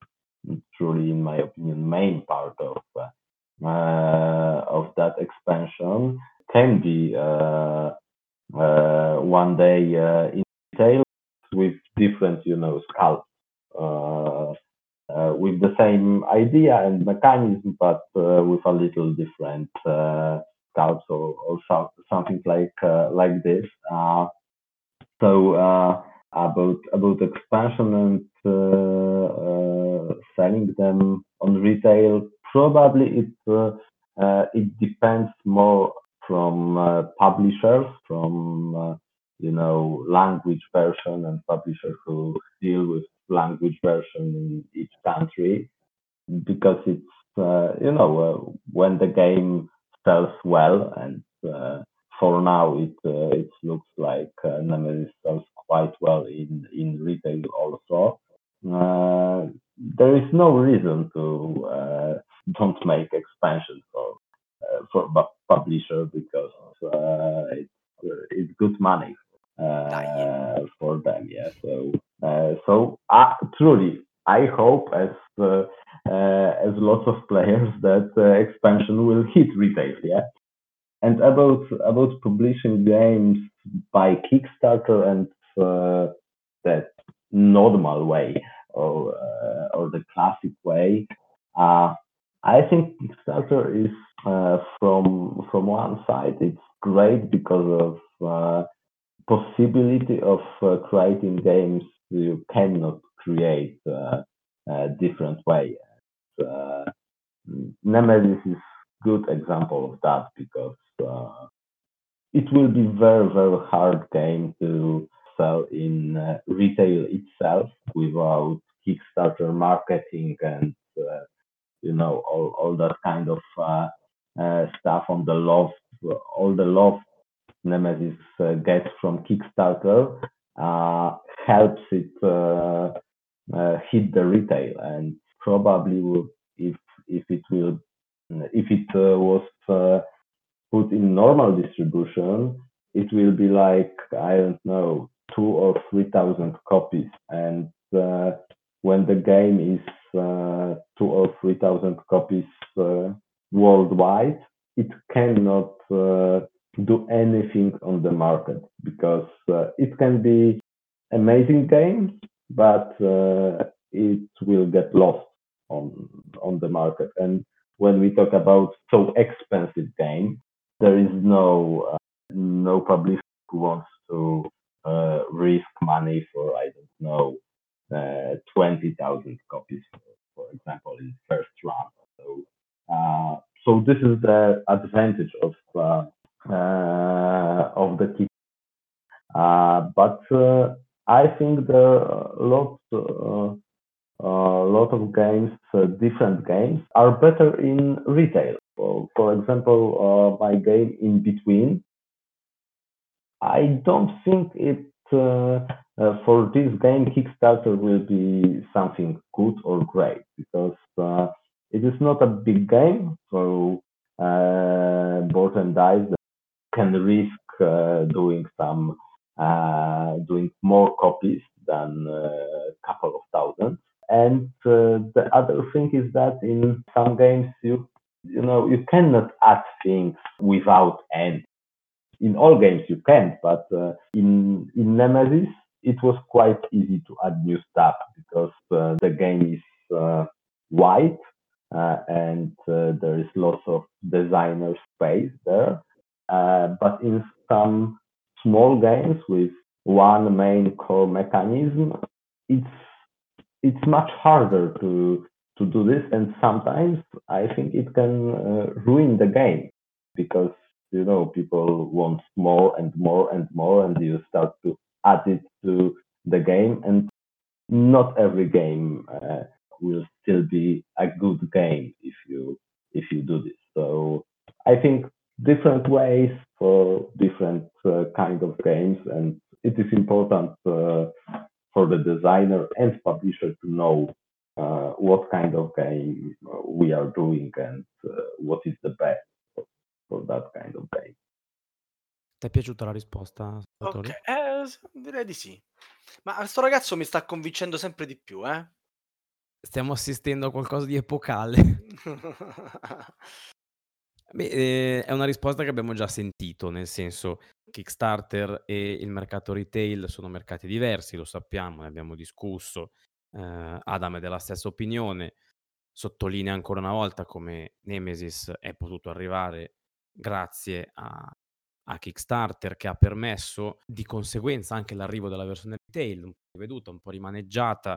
Speaker 3: truly, in my opinion, main part of uh, uh, of that expansion can be uh, uh, one day uh, in detail with different, you know, sculpts, uh, uh, with the same idea and mechanism, but uh, with a little different uh, sculpts or, or so, something like uh, like this. Uh, so uh, about about expansion and uh, uh, selling them on retail, probably it uh, uh, it depends more from uh, publishers, from uh, you know language version and publishers who deal with language version in each country, because it's uh, you know uh, when the game sells well, and uh, for now it uh, it looks like uh, Nemesis sells quite well in in retail also. Uh, there is no reason to uh, don't make expansion for uh, for bu- publisher, because uh, it's uh, it's good money uh, for them. Yeah. So uh, so uh, truly, I hope, as uh, uh, as lots of players, that uh, expansion will hit retail. Yeah. And about about publishing games by Kickstarter and uh, that normal way, or uh, or the classic way, uh, I think Kickstarter is uh, from from one side it's great because of uh, possibility of uh, creating games you cannot create uh, a different way. Uh, Nemesis is good example of that, because uh, it will be very very hard game to sell in uh, retail itself without Kickstarter marketing and uh, you know all, all that kind of uh, uh, stuff on the love, all the love Nemesis uh, gets from Kickstarter uh, helps it uh, uh, hit the retail, and probably will, if if it will if it uh, was uh, put in normal distribution, it will be like, I don't know, two or three thousand copies, and uh, when the game is uh, two or three thousand copies uh, worldwide, it cannot uh, do anything on the market, because uh, it can be amazing game, but uh, it will get lost on on the market. And when we talk about so expensive game, there is no uh, no publisher who wants to uh, risk money for, I don't know, uh, twenty thousand copies, for example, in first round. So uh, so this is the advantage of uh, uh, of the kit. Uh, but uh, I think there are lots uh, a lot of games, uh, different games, are better in retail. For, for example, uh, my game In Between, I don't think it uh, uh, for this game Kickstarter will be something good or great, because uh, it is not a big game, so uh, board and dice can risk uh, doing some uh, doing more copies than a couple of thousand. And uh, the other thing is that in some games you you know you cannot add things without end. In all games you can, but uh, in in Nemesis it was quite easy to add new stuff, because uh, the game is uh, wide, uh, and uh, there is lots of designer space there. Uh, but in some small games with one main core mechanism, it's it's much harder to to do this, and sometimes I think it can uh, ruin the game because you know people want more and more and more, and you start to add it to the game, and not every game uh, will still be a good game if you if you do this. So I think different ways for different uh, kind of games, and it is important uh, for the designer and publisher to know uh, what kind of game uh, we are doing and uh, what is the best for, for that kind of game.
Speaker 2: Ti è piaciuta la risposta,
Speaker 1: Ok,
Speaker 2: Salvatore?
Speaker 1: eh, s- direi di sì. Ma sto ragazzo mi sta convincendo sempre di più, eh?
Speaker 2: Stiamo assistendo a qualcosa di epocale. Beh, ehm, è una risposta che abbiamo già sentito, nel senso, Kickstarter e il mercato retail sono mercati diversi, lo sappiamo, ne abbiamo discusso. Ehm, Adam è della stessa opinione. Sottolinea ancora una volta come Nemesis è potuto arrivare grazie a a Kickstarter, che ha permesso di conseguenza anche l'arrivo della versione retail, un po' riveduta, un po' rimaneggiata,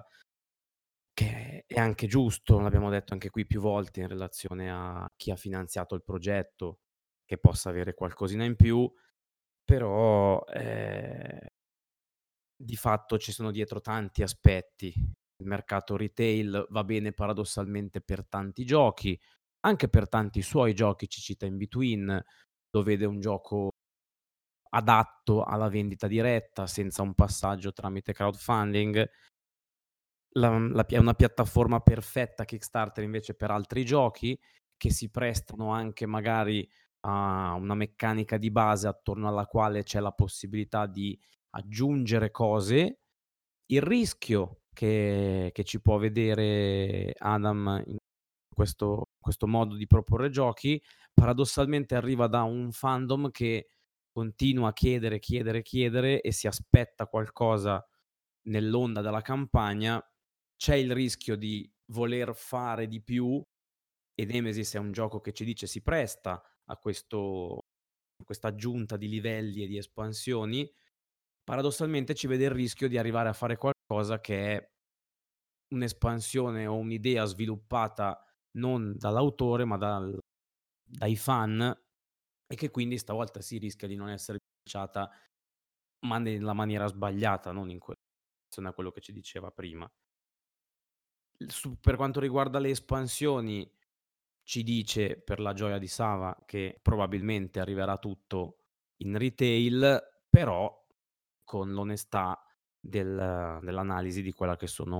Speaker 2: che è anche giusto, l'abbiamo detto anche qui più volte in relazione a chi ha finanziato il progetto, che possa avere qualcosina in più, però, ehm, di fatto ci sono dietro tanti aspetti. Il mercato retail va bene paradossalmente per tanti giochi, anche per tanti suoi giochi, ci cita In Between, lo vede un gioco adatto alla vendita diretta, senza un passaggio tramite crowdfunding. La mhmm, la pia è una piattaforma perfetta Kickstarter invece per altri giochi, che si prestano anche magari a una meccanica di base attorno alla quale c'è la possibilità di aggiungere cose. Il rischio che che ci può vedere Adam in questo questo modo di proporre giochi, paradossalmente arriva da un fandom che continua a chiedere, chiedere, chiedere e si aspetta qualcosa nell'onda della campagna. C'è il rischio di voler fare di più, e Nemesis è un gioco che ci dice si presta a questo a questa aggiunta di livelli e di espansioni. Paradossalmente ci vede il rischio di arrivare a fare qualcosa che è un'espansione o un'idea sviluppata non dall'autore, ma dal dai fan, e che quindi stavolta si rischia di non essere bilanciata, ma nella maniera sbagliata, non in relazione a quello che ci diceva prima. Il su Per quanto riguarda le espansioni, ci dice, per la gioia di Sava, che probabilmente arriverà tutto in retail, però con l'onestà del dell'analisi di quella che sono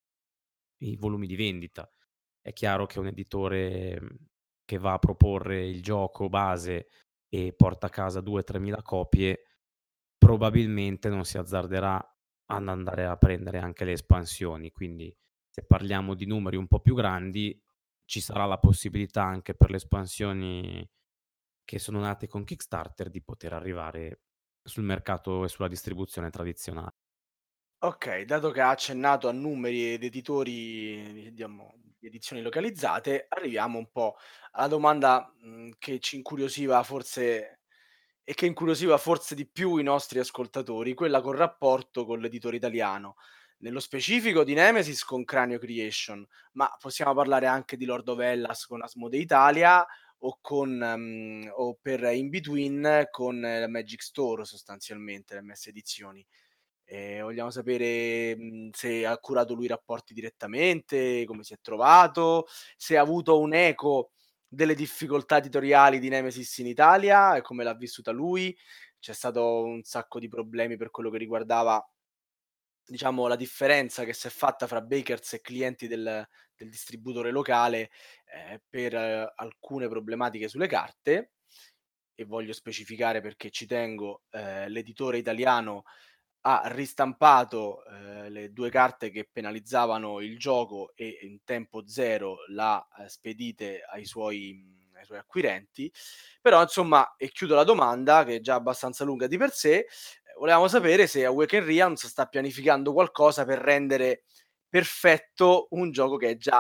Speaker 2: i volumi di vendita. È chiaro che un editore, mhmm, che va a proporre il gioco base e porta a casa due, tremila copie, probabilmente non si azzarderà ad andare a prendere anche le espansioni. Quindi, se parliamo di numeri un po' più grandi, ci sarà la possibilità anche per le espansioni che sono nate con Kickstarter di poter arrivare sul mercato e sulla distribuzione tradizionale.
Speaker 1: Ok, dato che ha accennato a numeri ed editori, vediamo, di edizioni localizzate, arriviamo un po' alla domanda mh, che ci incuriosiva forse e che incuriosiva forse di più i nostri ascoltatori, quella col rapporto con l'editore italiano. Nello specifico di Nemesis con Cranio Creation, ma possiamo parlare anche di Lord of Hellas con Asmodee Italia o con mhmm, o per In Between con la Magic Store sostanzialmente, le M S Edizioni. Ehm, vogliamo sapere, mhmm, se ha curato lui i rapporti direttamente, come si è trovato, se ha avuto un eco delle difficoltà editoriali di Nemesis in Italia e come l'ha vissuta lui. C'è stato un sacco di problemi per quello che riguardava, diciamo, la differenza che s'è fatta fra bakers e clienti del del distributore locale, ehm, per eh, alcune problematiche sulle carte. E voglio specificare perché ci tengo, ehm, l'editore italiano ha ristampato, ehm, le due carte che penalizzavano il gioco e in tempo zero l'ha, ehm, spedite ai suoi mhmm, ai suoi acquirenti. Però insomma, e chiudo la domanda che è già abbastanza lunga di per sé, ehm, volevamo sapere se Awaken Realms sta pianificando qualcosa per rendere perfetto un gioco che è già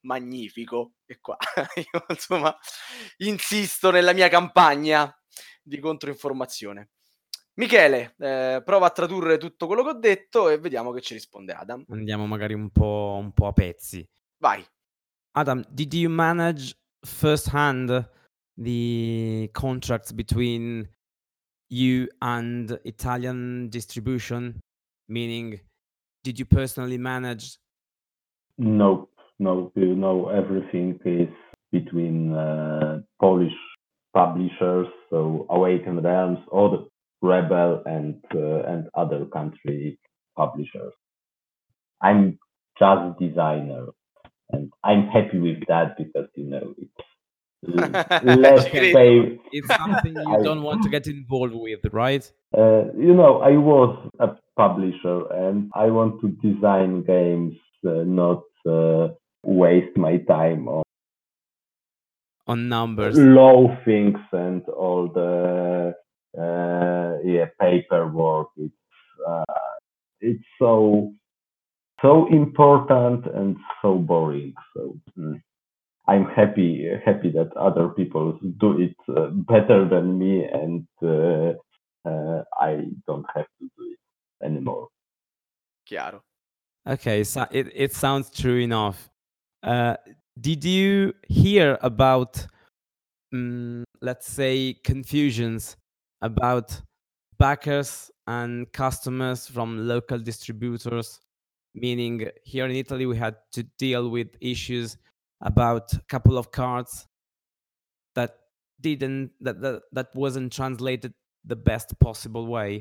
Speaker 1: magnifico. E qua io insomma insisto nella mia campagna di controinformazione. Michele, eh, prova a tradurre tutto quello che ho detto e vediamo che ci risponde Adam.
Speaker 2: Andiamo magari un po', un po' a pezzi.
Speaker 1: Vai.
Speaker 2: Adam, did you manage firsthand the contracts between you and Italian distribution? Meaning, did you personally manage?
Speaker 3: No, no, you know, everything is between uh, Polish publishers, so Awakened Realms, or the Rebel, and uh, and other country publishers. I'm just designer, and I'm happy with that because you know it's less
Speaker 1: Okay.
Speaker 3: pay.
Speaker 2: It's something you
Speaker 3: I-
Speaker 2: don't want to get involved with, right?
Speaker 3: Uh, you know, I was a publisher, and I want to design games, uh, not uh, waste my time on
Speaker 2: On numbers.
Speaker 3: low things and all the uh, yeah paperwork. It's uh, it's so so important and so boring. So mm, I'm happy happy that other people do it uh, better than me, and uh, uh, I don't have to do it anymore.
Speaker 1: Chiaro.
Speaker 2: Okay, so it, it sounds true enough. Uh, did you hear about, mm, let's say, confusions about backers and customers from local distributors? Meaning, here in Italy, we had to deal with issues about a couple of cards that didn't that that, that wasn't translated the best possible way.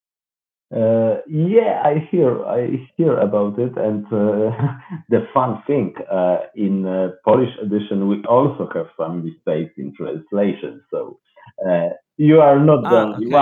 Speaker 3: Uh, yeah, I hear I hear about it, and uh, the fun thing uh, in uh, Polish edition we also have some mistakes in translation. So uh, you are not the
Speaker 2: Ah,
Speaker 3: only
Speaker 2: okay.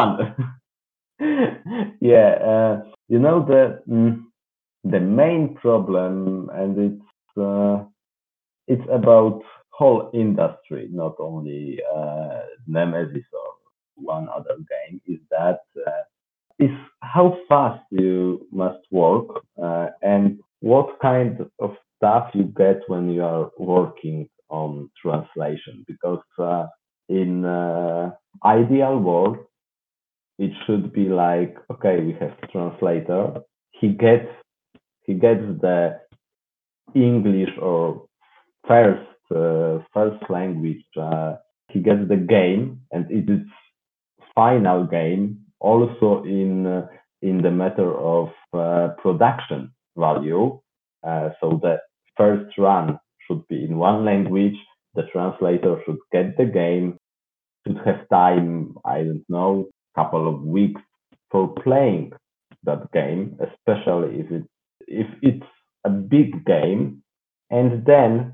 Speaker 3: one. yeah, uh, you know the mm, the main problem, and it's uh, it's about whole industry, not only uh, Nemesis or one other game. Is that uh, is how fast you must work uh, and what kind of stuff you get when you are working on translation. Because uh, in uh, ideal world, it should be like, okay, we have translator. He gets he gets the English or first uh, first language. Uh, he gets the game, and it is final game also in uh, in the matter of uh, production value. Uh, so the first run should be in one language. The translator should get the game, should have time, I don't know, couple of weeks for playing that game, especially if it if it's a big game, and then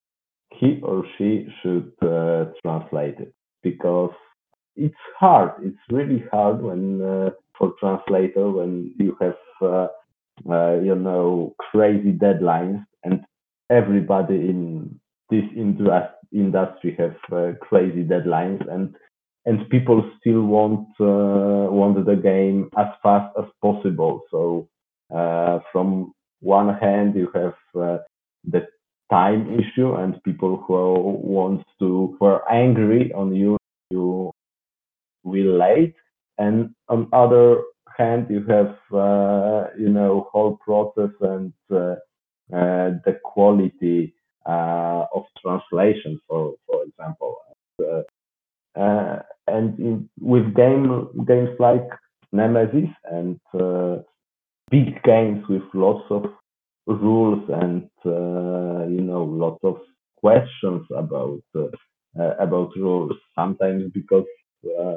Speaker 3: he or she should uh, translate it, because it's hard. It's really hard when uh, for translator when you have uh, uh, you know crazy deadlines, and everybody in this indus- industry have uh, crazy deadlines, and and people still want uh, want the game as fast as possible. So uh, from one hand you have uh, the time issue, and people who want to who are angry on you you will late, and on other hand you have uh, you know whole process and uh, uh, the quality uh, of translation, for for example. Uh, uh, and in, with game games like Nemesis and uh, big games with lots of rules and uh, you know lots of questions about uh, uh, about rules. Sometimes because uh,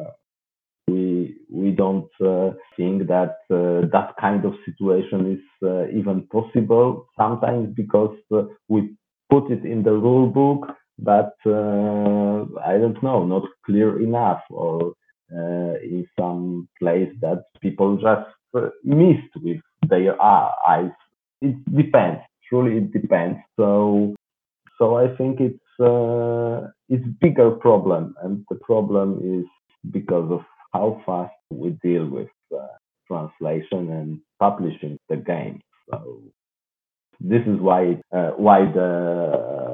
Speaker 3: we we don't uh, think that uh, that kind of situation is uh, even possible. Sometimes because uh, we put it in the rule book, but uh, I don't know, not clear enough, or uh, in some place that people just uh, missed with their uh, eyes. It depends. Truly, it depends. So, so I think it's uh, it's bigger problem, and the problem is because of how fast we deal with uh, translation and publishing the game. So this is why uh, why the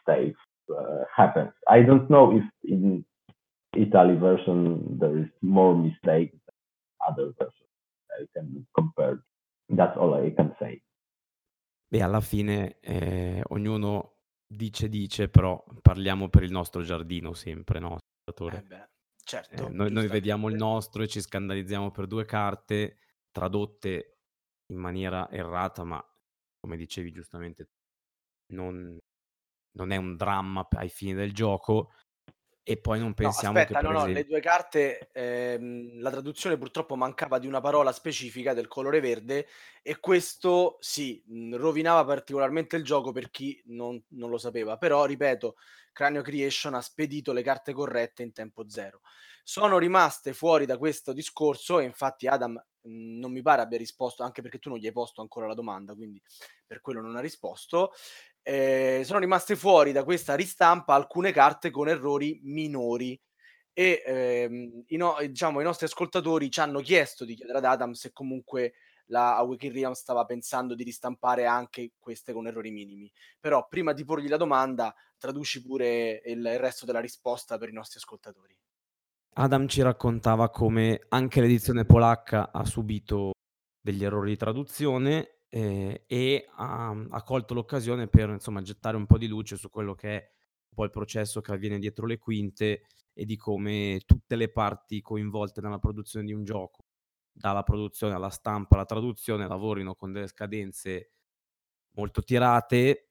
Speaker 3: mistakes uh, happens. I don't know if in Italy version there is more mistakes than other versions. I can compare. That's all I can say.
Speaker 2: Beh, alla fine eh, ognuno dice dice, però parliamo per il nostro giardino sempre, no?
Speaker 1: Eh beh,
Speaker 2: Eh,
Speaker 1: certo,
Speaker 2: noi, noi vediamo il
Speaker 1: giustamente.
Speaker 2: nostro e ci scandalizziamo per due carte tradotte in maniera errata, ma come dicevi giustamente, non, non è un dramma ai fini del gioco. E poi non
Speaker 1: No,
Speaker 2: pensiamo che,
Speaker 1: aspetta, no,
Speaker 2: per
Speaker 1: no, le
Speaker 2: esempio,
Speaker 1: due carte, ehm, la traduzione purtroppo mancava di una parola specifica del colore verde e questo sì, mhmm, rovinava particolarmente il gioco per chi non non lo sapeva. Però, ripeto, Cranio Creation ha spedito le carte corrette in tempo zero. Sono rimaste fuori da questo discorso e infatti Adam, mhmm, non mi pare abbia risposto, anche perché tu non gli hai posto ancora la domanda, quindi per quello non ha risposto. Ehm, sono rimaste fuori da questa ristampa alcune carte con errori minori e, ehm, i no diciamo i nostri ascoltatori ci hanno chiesto di chiedere ad Adam se comunque la Awaken Realms stava pensando di ristampare anche queste con errori minimi. Però prima di porgli la domanda, traduci pure il il resto della risposta per i nostri ascoltatori.
Speaker 2: Adam ci raccontava come anche l'edizione polacca ha subito degli errori di traduzione, ehm, e ha ha colto l'occasione per, insomma, gettare un po' di luce su quello che è un po' il processo che avviene dietro le quinte e di come tutte le parti coinvolte nella produzione di un gioco, dalla produzione alla stampa alla traduzione, lavorino con delle scadenze molto tirate.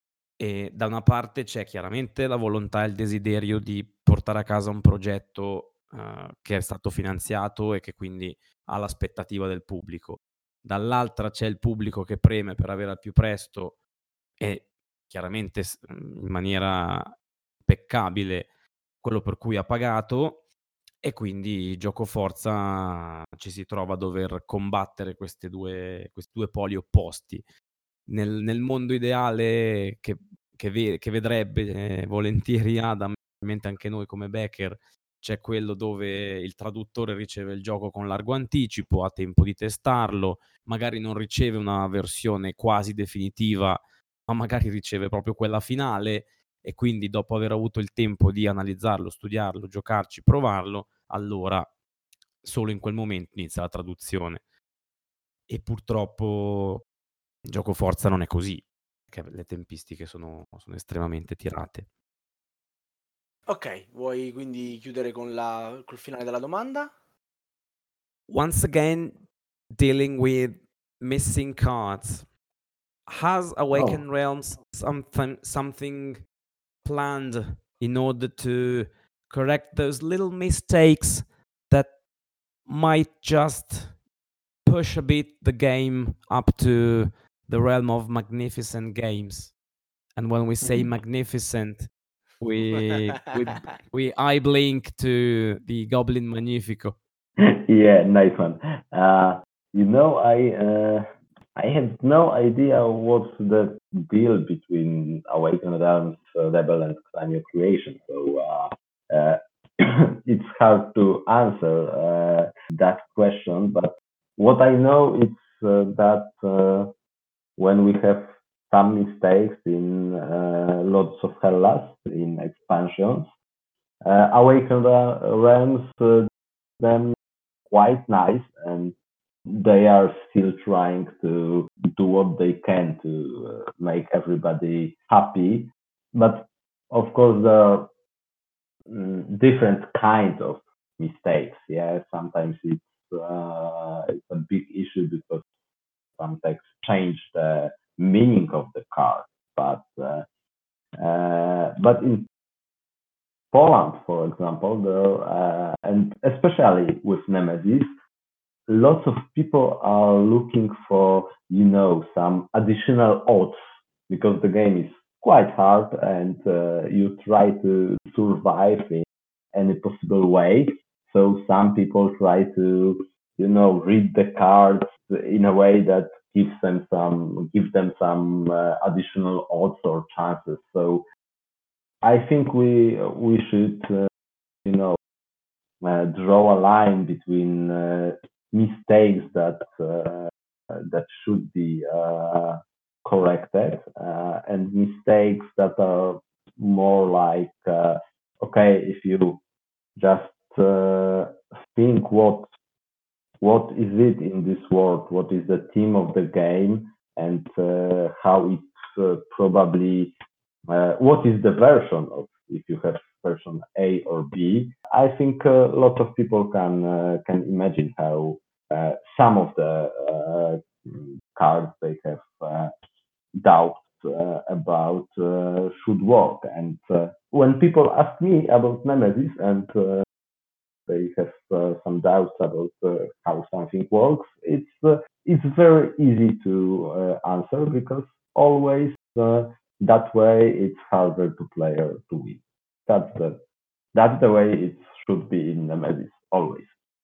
Speaker 2: E da una parte c'è chiaramente la volontà e il desiderio di portare a casa un progetto, uhm, che è stato finanziato e che quindi ha l'aspettativa del pubblico. Dall'altra c'è il pubblico che preme per avere al più presto e chiaramente s mhmm, in maniera impeccabile quello per cui ha pagato e quindi giocoforza ci si trova a dover combattere queste due questi due poli opposti. Nel nel mondo ideale che che ve che vedrebbe, ehm, volentieri Adam, ovviamente anche noi come backer, c'è quello dove il traduttore riceve il gioco con largo anticipo, ha tempo di testarlo, magari non riceve una versione quasi definitiva, ma magari riceve proprio quella finale e quindi dopo aver avuto il tempo di analizzarlo, studiarlo, giocarci, provarlo, allora solo in quel momento inizia la traduzione. E purtroppo Giocoforza non è così, perché le tempistiche sono sono estremamente tirate.
Speaker 1: Okay, vuoi quindi chiudere con la col finale della domanda?
Speaker 2: Once again, dealing with missing cards, has
Speaker 3: Oh,
Speaker 2: Awakened Realms something something planned in order to correct those little mistakes that might just push a bit the game up to the realm of magnificent games? And when we say
Speaker 3: mm.
Speaker 2: magnificent, we we we eye blink to the Goblin Magnifico.
Speaker 3: Yeah, nice one. Uh, you know, I uh, I have no idea what's the deal between Awakened Realms, uh, Rebel, and Cranio Creation. So uh, uh, it's hard to answer uh, that question. But what I know is uh, that uh, when we have some mistakes in uh, Lords of Hellas in expansions, uh, Awakened Realms uh, them quite nice, and they are still trying to do what they can to uh, make everybody happy. But of course, there are mm, different kinds of mistakes. Yeah, sometimes it's uh, it's a big issue because some text change the meaning of the card. But uh, uh, but in Poland, for example, there uh, and especially with Nemesis, lots of people are looking for, you know, some additional odds because the game is quite hard and uh, you try to survive in any possible way. So some people try to, you know, read the cards in a way that gives them some, give them some uh, additional odds or chances. So I think we we should, uh, you know, uh, draw a line between uh, mistakes that uh, that should be uh, corrected uh, and mistakes that are more like, uh, okay, if you just uh, think what what is it in this world, what is the theme of the game, and uh, how it uh, probably, uh, what is the version of, if you have version A or B. I think a lot of people can uh, can imagine how uh, some of the uh, cards they have uh, doubts uh, about uh, should work. And uh, when people ask me about Nemesis and uh, they have uh, some doubts about uh, how something works, it's uh, it's very easy to uh, answer, because always uh, that way it's harder to player to win. That's the that's the way it should be in Nemesis, always.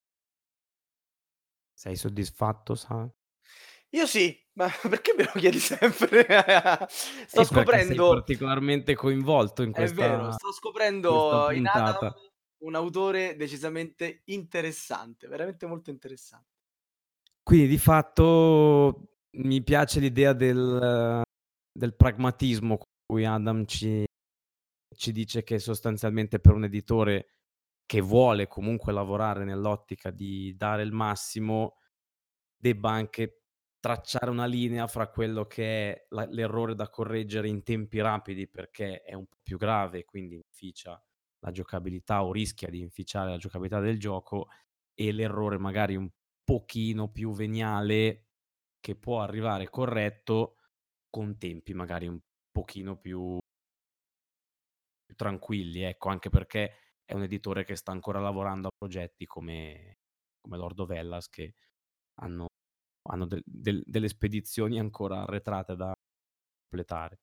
Speaker 2: Sei soddisfatto, Sa?
Speaker 1: Io sì, ma perché me lo chiedi sempre? Sto
Speaker 2: E perché sei
Speaker 1: scoprendo
Speaker 2: particolarmente coinvolto in
Speaker 1: È vero,
Speaker 2: questa
Speaker 1: sto
Speaker 2: questa
Speaker 1: scoprendo in Adam
Speaker 2: puntata.
Speaker 1: un autore decisamente interessante, veramente molto interessan
Speaker 2: Quindi di fatto mi piace l'idea del del pragmatismo con cui Adam ci ci dice che sostanzialmente per un editore che vuole comunque lavorare nell'ottica di dare il massimo, debba anche tracciare una linea fra quello che è la l'errore da correggere in tempi rapidi, perché è un po' più grave e quindi inficia la giocabilità o rischia di inficiare la giocabilità del gioco, e l'errore magari un pochino più veniale che può arrivare corretto con tempi magari un pochino più più tranquilli, ecco, anche perché è un editore che sta ancora lavorando a progetti come come Lord of Hellas, che hanno hanno del del delle spedizioni ancora arretrate da completare.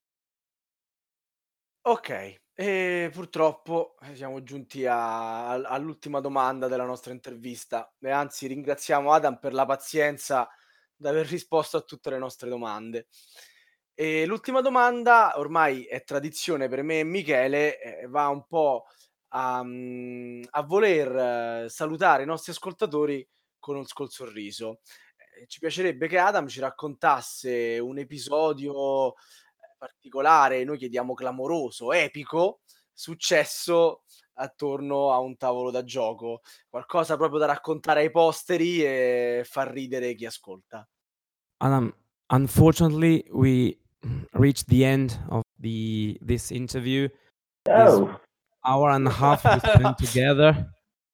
Speaker 1: Okay, e purtroppo, eh, siamo giunti a al all'ultima domanda della nostra intervista e anzi ringraziamo Adam per la pazienza d'aver risposto a tutte le nostre domande. E l'ultima domanda, ormai è tradizione per me e Michele, e va un po' a mhmm, a voler salutare i nostri ascoltatori con un col sorriso. Ehm, ci piacerebbe che Adam ci raccontasse un episodio, ehm, particolare, noi chiediamo clamoroso, epico, successo attorno a un tavolo da gioco. Qualcosa proprio da raccontare ai posteri e far ridere chi ascolta.
Speaker 2: Adam, unfortunately, we reached the end of the this interview. This
Speaker 3: Oh.
Speaker 2: hour and a half we spent together.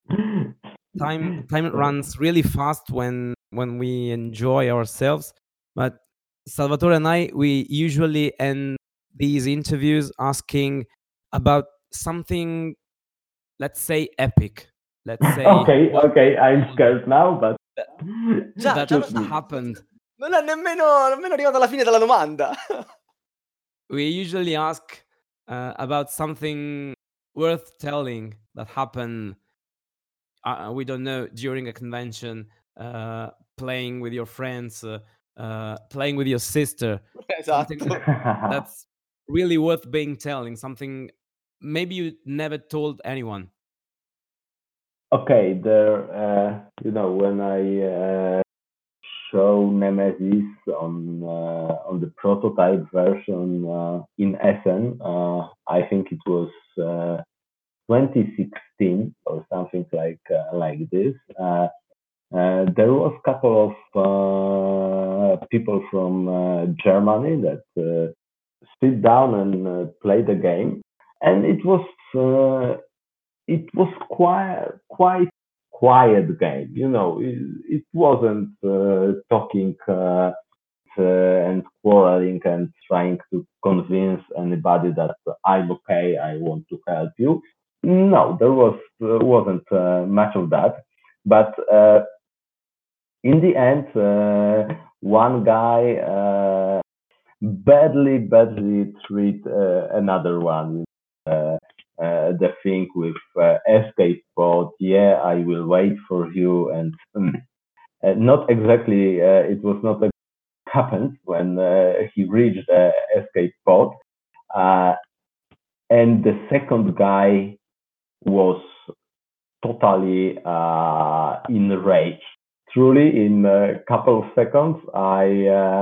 Speaker 2: Time time runs really fast when when we enjoy ourselves, but Salvatore and I, we usually end these interviews asking about something, let's say, epic. Let's say
Speaker 3: Okay,
Speaker 2: what
Speaker 3: okay, I'm scared now, but
Speaker 1: Già,
Speaker 2: that
Speaker 1: già lo
Speaker 3: shoot
Speaker 1: sta
Speaker 3: me.
Speaker 2: happened.
Speaker 1: Non è nemmeno nemmeno arrivato alla fine della domanda.
Speaker 2: We usually ask uh, about something worth telling that happened, uh, we don't know, during a convention, uh, playing with your friends, uh, uh, playing with your sister, something
Speaker 1: Esatto.
Speaker 2: that's really worth being telling, something maybe you never told anyone.
Speaker 3: Okay, there, uh, you know, when I uh, show Nemesis on uh, on the prototype version uh, in Essen, uh, I think it was uh, twenty sixteen or something like uh, like this. Uh, uh, there was a couple of uh, people from uh, Germany that uh, sit down and uh, play the game, and it was uh, it was quite quite quiet game. You know, it, it wasn't uh, talking uh, uh, and quarreling and trying to convince anybody that I'm okay, I want to help you. No, there was uh, wasn't uh, much of that, but uh, in the end, uh, one guy uh, badly, badly treat uh, another one. Uh, uh, the thing with uh, escape pod, yeah, I will wait for you, and mm, uh, not exactly. Uh, it was not a happened when uh, he reached the escape pod, uh, and the second guy was totally uh, enraged. Truly, in a couple of seconds, I uh,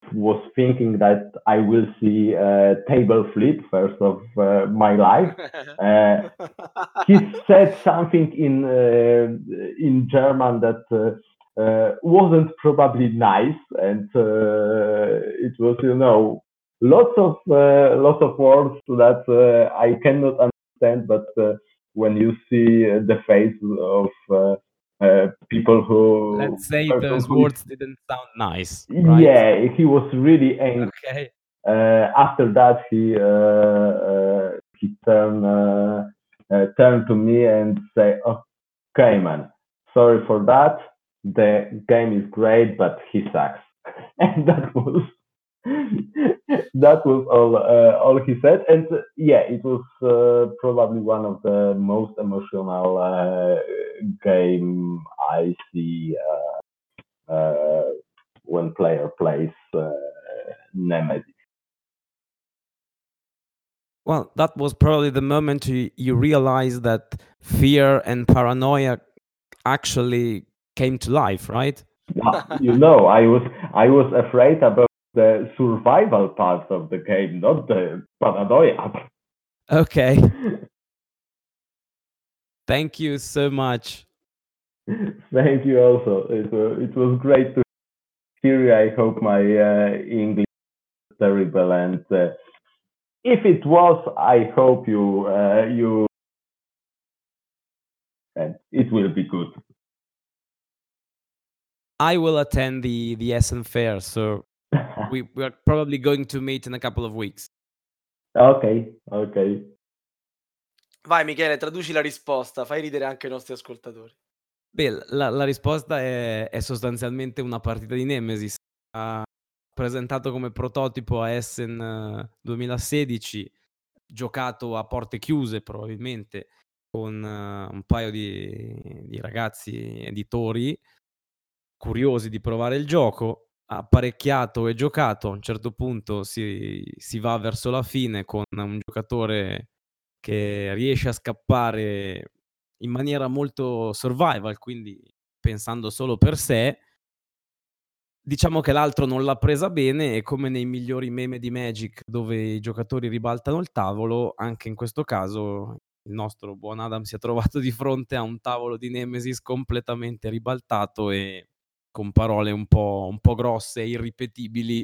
Speaker 3: was thinking that I will see a table flip first of uh, my life. Uh, he said something in uh, in German that uh, uh, wasn't probably nice, and uh, it was, you know, lots of uh, lots of words that uh, I cannot understand. But uh, when you see uh, the face of uh, uh, people who,
Speaker 2: let's say
Speaker 3: person
Speaker 2: those
Speaker 3: who is-
Speaker 2: words didn't sound nice, right?
Speaker 3: yeah, he was really angry.
Speaker 2: Okay.
Speaker 3: Uh, after that, he uh, uh, he turned uh, uh, turned to me and say, "Okay, man, sorry for that. The game is great, but he sucks." And that was that was all uh, all he said. And uh, yeah, it was uh, probably one of the most emotional uh, game I see uh, uh, when player plays uh, Nemesis.
Speaker 2: Well, that was probably the moment you, you realized that fear and paranoia actually came to life, right?
Speaker 3: You know, I was I was afraid about the survival part of the game, not the paranoia.
Speaker 2: Okay. Thank you so much.
Speaker 3: Thank you also. It was, it was great to hear you. I hope my uh, English is terrible, and uh, if it was, I hope you uh, you and it will be good.
Speaker 2: I will attend the the Essen Fair, so we we're probably going to meet in a couple of weeks.
Speaker 3: Ok, ok.
Speaker 1: Vai Michele, traduci la risposta, fai ridere anche i nostri ascoltatori.
Speaker 2: Beh, la, la risposta è, è sostanzialmente una partita di Nemesis. Ha presentato come prototipo a Essen uh, duemilasedici, giocato a porte chiuse probabilmente, con uh, un paio di, di ragazzi editori curiosi di provare il gioco, apparecchiato e giocato. A un certo punto si, si va verso la fine con un giocatore che riesce a scappare in maniera molto survival, quindi pensando solo per sé. Diciamo che l'altro non l'ha presa bene e, come nei migliori meme di Magic dove i giocatori ribaltano il tavolo, anche in questo caso il nostro buon Adam si è trovato di fronte a un tavolo di Nemesis completamente ribaltato e con parole un po', un po' grosse e irripetibili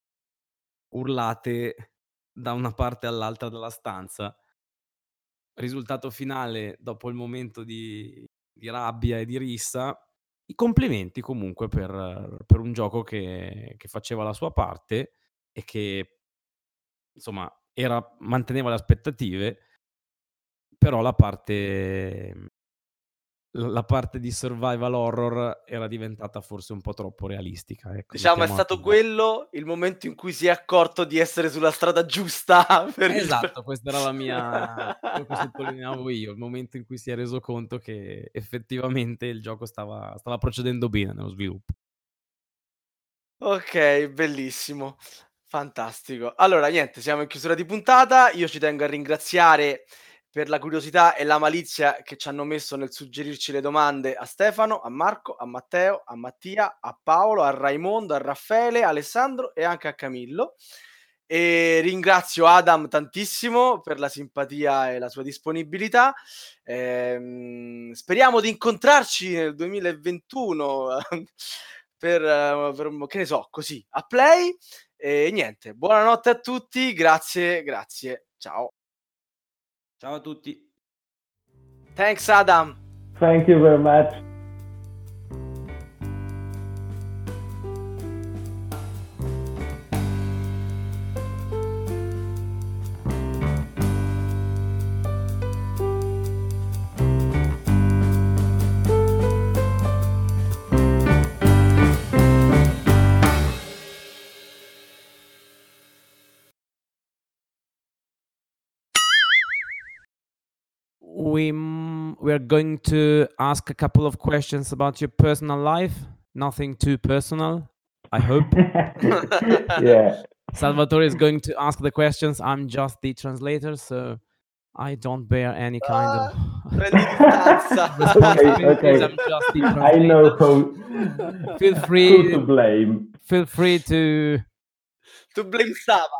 Speaker 2: urlate da una parte all'altra della stanza. Risultato finale, dopo il momento di, di rabbia e di rissa, i complimenti comunque per, per un gioco che, che faceva la sua parte e che insomma era, manteneva le aspettative, però la parte la parte di survival horror era diventata forse un po' troppo realistica. Ecco,
Speaker 1: diciamo è stato
Speaker 2: così.
Speaker 1: quello il momento in cui si è accorto di essere sulla strada giusta. Per
Speaker 2: esatto,
Speaker 1: il...
Speaker 2: questa era la mia, quello che sottolineavo io, il momento in cui si è reso conto che effettivamente il gioco stava, stava procedendo bene nello sviluppo.
Speaker 1: Ok, bellissimo, fantastico. Allora, niente, siamo in chiusura di puntata. Io ci tengo a ringraziare per la curiosità e la malizia che ci hanno messo nel suggerirci le domande a Stefano, a Marco, a Matteo, a Mattia, a Paolo, a Raimondo, a Raffaele, a Alessandro e anche a Camillo. E ringrazio Adam tantissimo per la simpatia e la sua disponibilità. Ehm, speriamo di incontrarci nel duemilaventuno per, per, che ne so, così, a Play. E niente, buonanotte a tutti, grazie, grazie, ciao.
Speaker 2: Ciao a tutti.
Speaker 1: Thanks Adam.
Speaker 3: Thank you very much.
Speaker 2: We we're going to ask a couple of questions about your personal life. Nothing too personal, I hope.
Speaker 3: Yeah.
Speaker 2: Salvatore is going to ask the questions. I'm just the translator, so I don't bear any kind
Speaker 1: Ah,
Speaker 2: of
Speaker 1: prendi distanza.
Speaker 3: Okay, okay.
Speaker 2: I'm just the
Speaker 3: I know
Speaker 2: translator.
Speaker 3: how.
Speaker 2: Feel free
Speaker 3: Who to blame.
Speaker 2: Feel free to
Speaker 1: To blame Sava.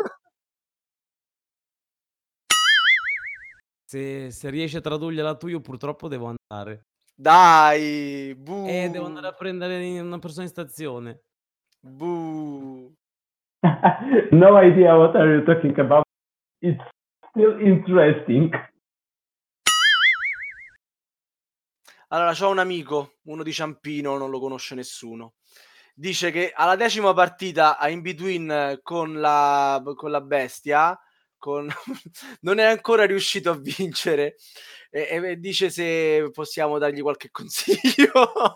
Speaker 2: Se, se riesci a tradurgliela tu, io purtroppo devo andare.
Speaker 1: Dai,
Speaker 2: Eh, devo andare
Speaker 1: buh,
Speaker 2: a prendere una persona in stazione.
Speaker 1: buh.
Speaker 3: No idea what are you talking about. It's still interesting.
Speaker 1: Allora, c'ho un amico, uno di Ciampino, non lo conosce nessuno. Dice che alla decima partita a In Between con la, con la bestia con... non è ancora riuscito a vincere e, e dice se possiamo dargli qualche consiglio.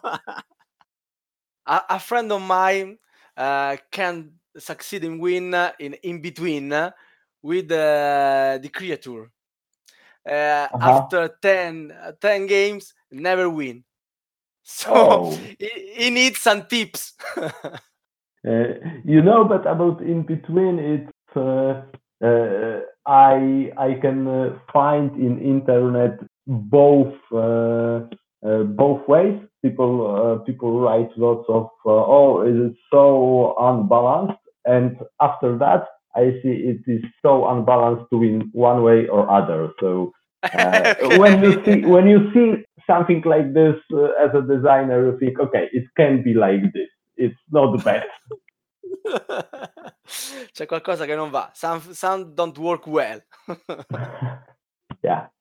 Speaker 1: a, a friend of mine uh, can succeed in win in In Between with uh, the creature. Uh,
Speaker 3: Uh-huh.
Speaker 1: After ten, ten games, never win. So
Speaker 3: Oh.
Speaker 1: he, he needs some tips.
Speaker 3: Uh, you know, but about In Between, it's uh, uh, I I can uh, find in internet both uh, uh, both ways. People uh, people write lots of uh, oh, it is so unbalanced, and after that, I see it is so unbalanced to win one way or other. So uh,
Speaker 1: Okay.
Speaker 3: when you see when you see something like this uh, as a designer, you think, okay, it can be like this. It's not the best.
Speaker 1: C'è qualcosa che non va. Some, some don't work well.
Speaker 3: Yeah.